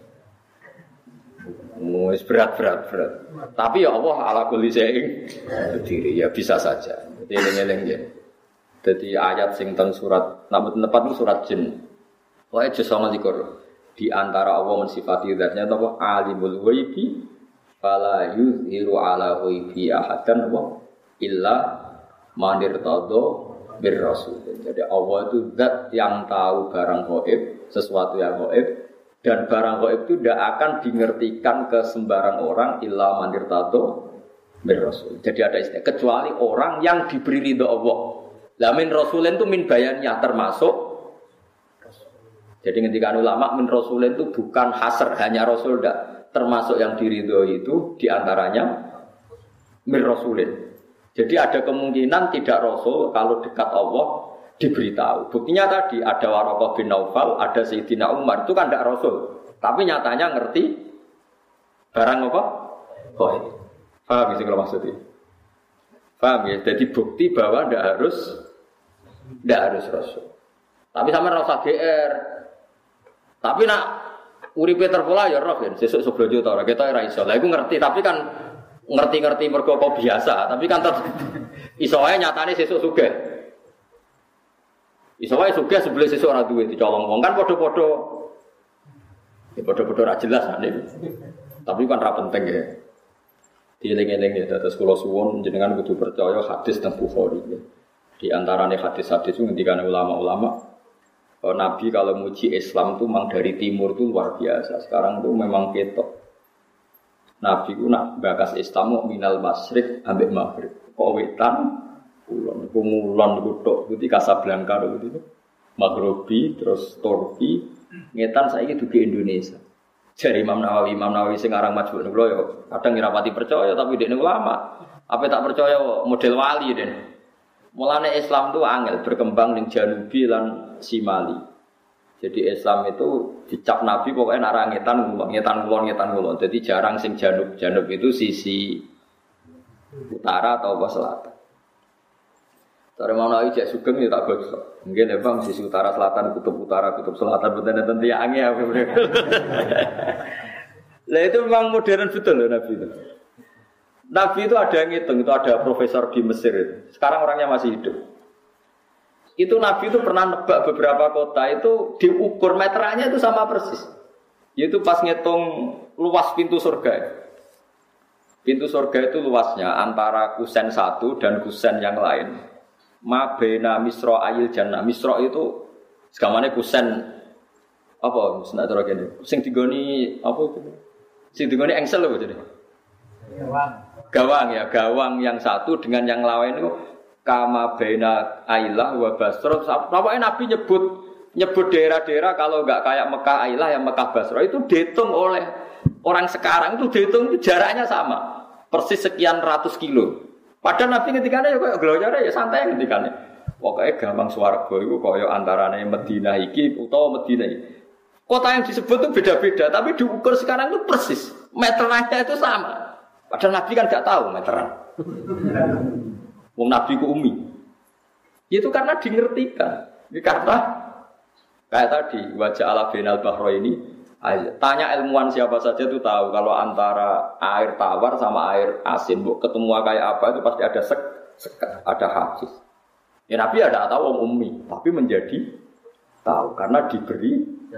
Berat. Tapi ya Allah ala kulli syai'in berdiri ya bisa saja. Jadi eling-eling ya. Jadi ayat sing teng surat napa tepat surat jin. Wae juz 29. Di antara Allah mensifati zatnya apa alimul ghaibi fala yuzhiru ala ghaibi ahadan wa illa man irtada bir rasul. Jadi Allah itu zat yang tahu barang gaib, sesuatu yang gaib dan barang gaib itu tidak akan dingertikan ke sembarang orang illa man irtada bir rasul. Jadi ada istilah kecuali orang yang diberi ridho Allah. Lah min rasulin itu min bayannya termasuk. Jadi ketika ulama min rasulin itu bukan hasr hanya rasul enggak, termasuk yang diridhoi itu diantaranya min rasulin. Jadi ada kemungkinan tidak rasul kalau dekat Allah diberitahu. Buktinya tadi ada Waraqah bin Naufal, ada Sayyidina Umar itu kan tidak rasul, tapi nyatanya ngerti barang apa? Paham sih kalau maksudnya? Paham ya? Jadi bukti bahwa tidak harus rasul. Tapi sama rasa GR. Tapi nak uripe terpola ya roh kan, sesuk seblojo ta ora ketok ora iso. Lah iku ngerti, tapi kan ngerti mergo apa biasa, tapi kan tetep iso wae nyatane sesuk sugih. Iso wae sugih sebelum sesuk ora duwe dicolong wong kan padha-padha. Ya padha-padha ora jelas nek. Tapi kan ra penting ya. Dieling-eling ya terus kula suwun jenengan kudu percaya hadis teng Bukhari ya. Di antarane hadis-hadis itu ngendikane ulama-ulama Nabi kalau muji Islam itu memang dari timur itu luar biasa. Sekarang itu memang ketok. Nabi itu nak bakas Islam mau minal masyrik ambek maghrib. Kok wetan, kulon itu tok. Itu Casablanca itu. Maghribi, terus Turki. Ngetan saya itu di Indonesia. Jadi Imam Nawawi sekarang majbuk nih ya. Kadang ngerapati percaya tapi dia ulama. Apa tak percaya model wali deh. Mulane Islam itu angel berkembang ning Janubi lan Simali. Jadi Islam itu dicap Nabi pokoknya nak ngetan kulon. Jadi jarang sing janub itu sisi utara atau apa selatan. Sore mau naik cek sugeng ya tak bagus. Mungkin ya bang sisi utara selatan kutub utara kutub selatan betul ya angin apa. Lah itu memang modern betul loh Nabi itu. Nabi itu ada yang ngitung, itu ada profesor di Mesir itu. Sekarang orangnya masih hidup. Itu Nabi itu pernah nebak beberapa kota itu diukur meterannya itu sama persis. Yaitu pas ngitung luas pintu surga. Pintu surga itu luasnya antara kusen satu dan kusen yang lain. Ma baina misra ayil jannah. Misra itu segamane kusen apa? Senak cara kene. Sing digoni apa itu? Sing digoni engsel lho jadi. Gawang ya, gawang yang satu dengan yang lain itu kama baina Ailah wa Basra. Pokoknya Nabi nyebut daerah-daerah kalau enggak kayak Mekah Ailah yang Mekah Basra itu dihitung oleh orang sekarang itu dihitung itu jaraknya sama. Persis sekian ratus kilo. Padahal Nabi ketikane ya koyo glojare ya santai ketikane. Pokoke gampang swarga iku koyo antarane Madinah iki utawa Madinah iki. Kota yang disebut itu beda-beda tapi diukur sekarang itu persis. Meterannya itu sama. Padahal Nabi kan enggak tahu meteran. Wong Nabi ku umi. Itu karena dingertikan. Karena kayak tadi wajah ala binal bahro ini. Tanya ilmuwan siapa saja itu tahu kalau antara air tawar sama air asin, ketemu kayak apa itu pasti ada ada hadis. Ya Nabi ada tahu wong umi, tapi menjadi tahu karena diberi.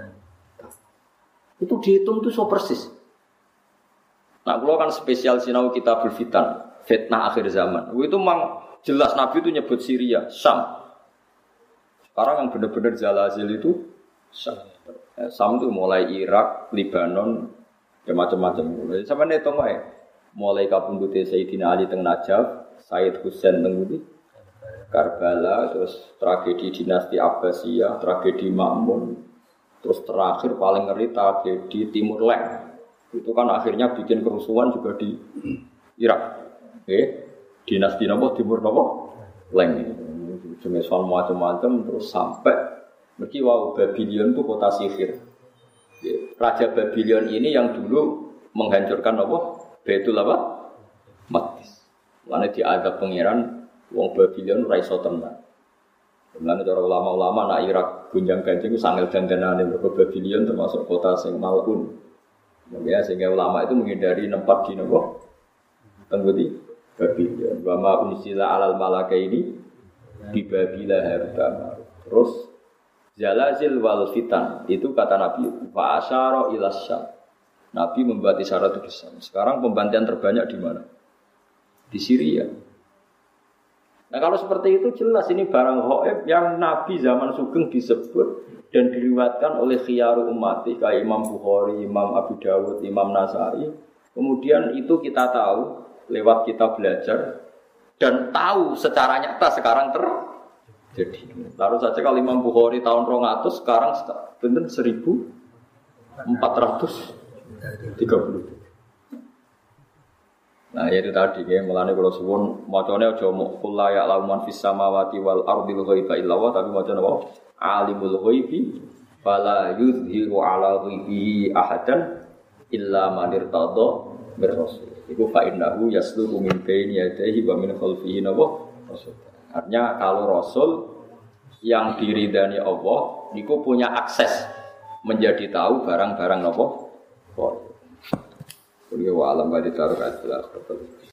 Itu dihitung itu so persis. Nah, kalau kan spesial sinau kitabul fitan, fitnah akhir zaman. Itu memang jelas Nabi itu nyebut Syria, Syam. Sekarang yang benar-benar zalazil itu Syam. Syam itu mulai Irak, Libanon, ya macam-macam. Sampai hitung aja. Mulai kapundute Sayyidina Ali teng Najaf, Sayyid Husain teng Karbala, terus tragedi dinasti Abbasiyah, tragedi Ma'mun, terus terakhir paling ngeri tragedi Timur Leng. Itu kan akhirnya bikin kerusuhan juga di Irak. Dinasti napa Timur napa Leng. Jenis macam-macam terus sampai mergi Babylon itu kota sihir. Raja Babylon ini yang dulu menghancurkan apa? Baitul apa? Maqdis. Lalu diadab pangeran wong Babylon ora iso tenang. Lalu cara ulama-ulama nak Irak gunjang-ganjing itu sangel dandanane mergo Babylon termasuk kota sing malun. Ya sehingga ulama itu menghindari nempat di nopo tenggudi Babylon. Wa ma unsila alal malaka ini di Babila harta. Terus zalazil wal fitan itu kata Nabi fa asyara ila Syam. Nabi membuat isyarat itu di sana. Sekarang pembantian terbanyak di mana? Di Syria. Nah kalau seperti itu jelas ini barang ghaib yang Nabi zaman Sugeng disebut dan diriwayatkan oleh khiyaru ummati kayak Imam Bukhari, Imam Abu Dawud, Imam Nasai. Kemudian itu kita tahu lewat kita belajar dan tahu secara nyata sekarang jadi, taruh saja kalau Imam Bukhari tahun 200 sekarang benar 1430. Nah itu tadi ya, mulane kalau suwun macane aja mok kula ya lauman fis samawati wal ardil ghaiba illa wa tapi macane apa? Alimul ghaibi fala yuzhiru ala ghaibihi ahadan illa man irtada bir rasul. Iku fa innahu yasluhu min baini yadayhi wa min khalfihi rasul. Artinya kalau Rasul yang diridani Allah niku punya akses menjadi tahu barang-barang napa. Kok. Kuwi wa alam badhe taruh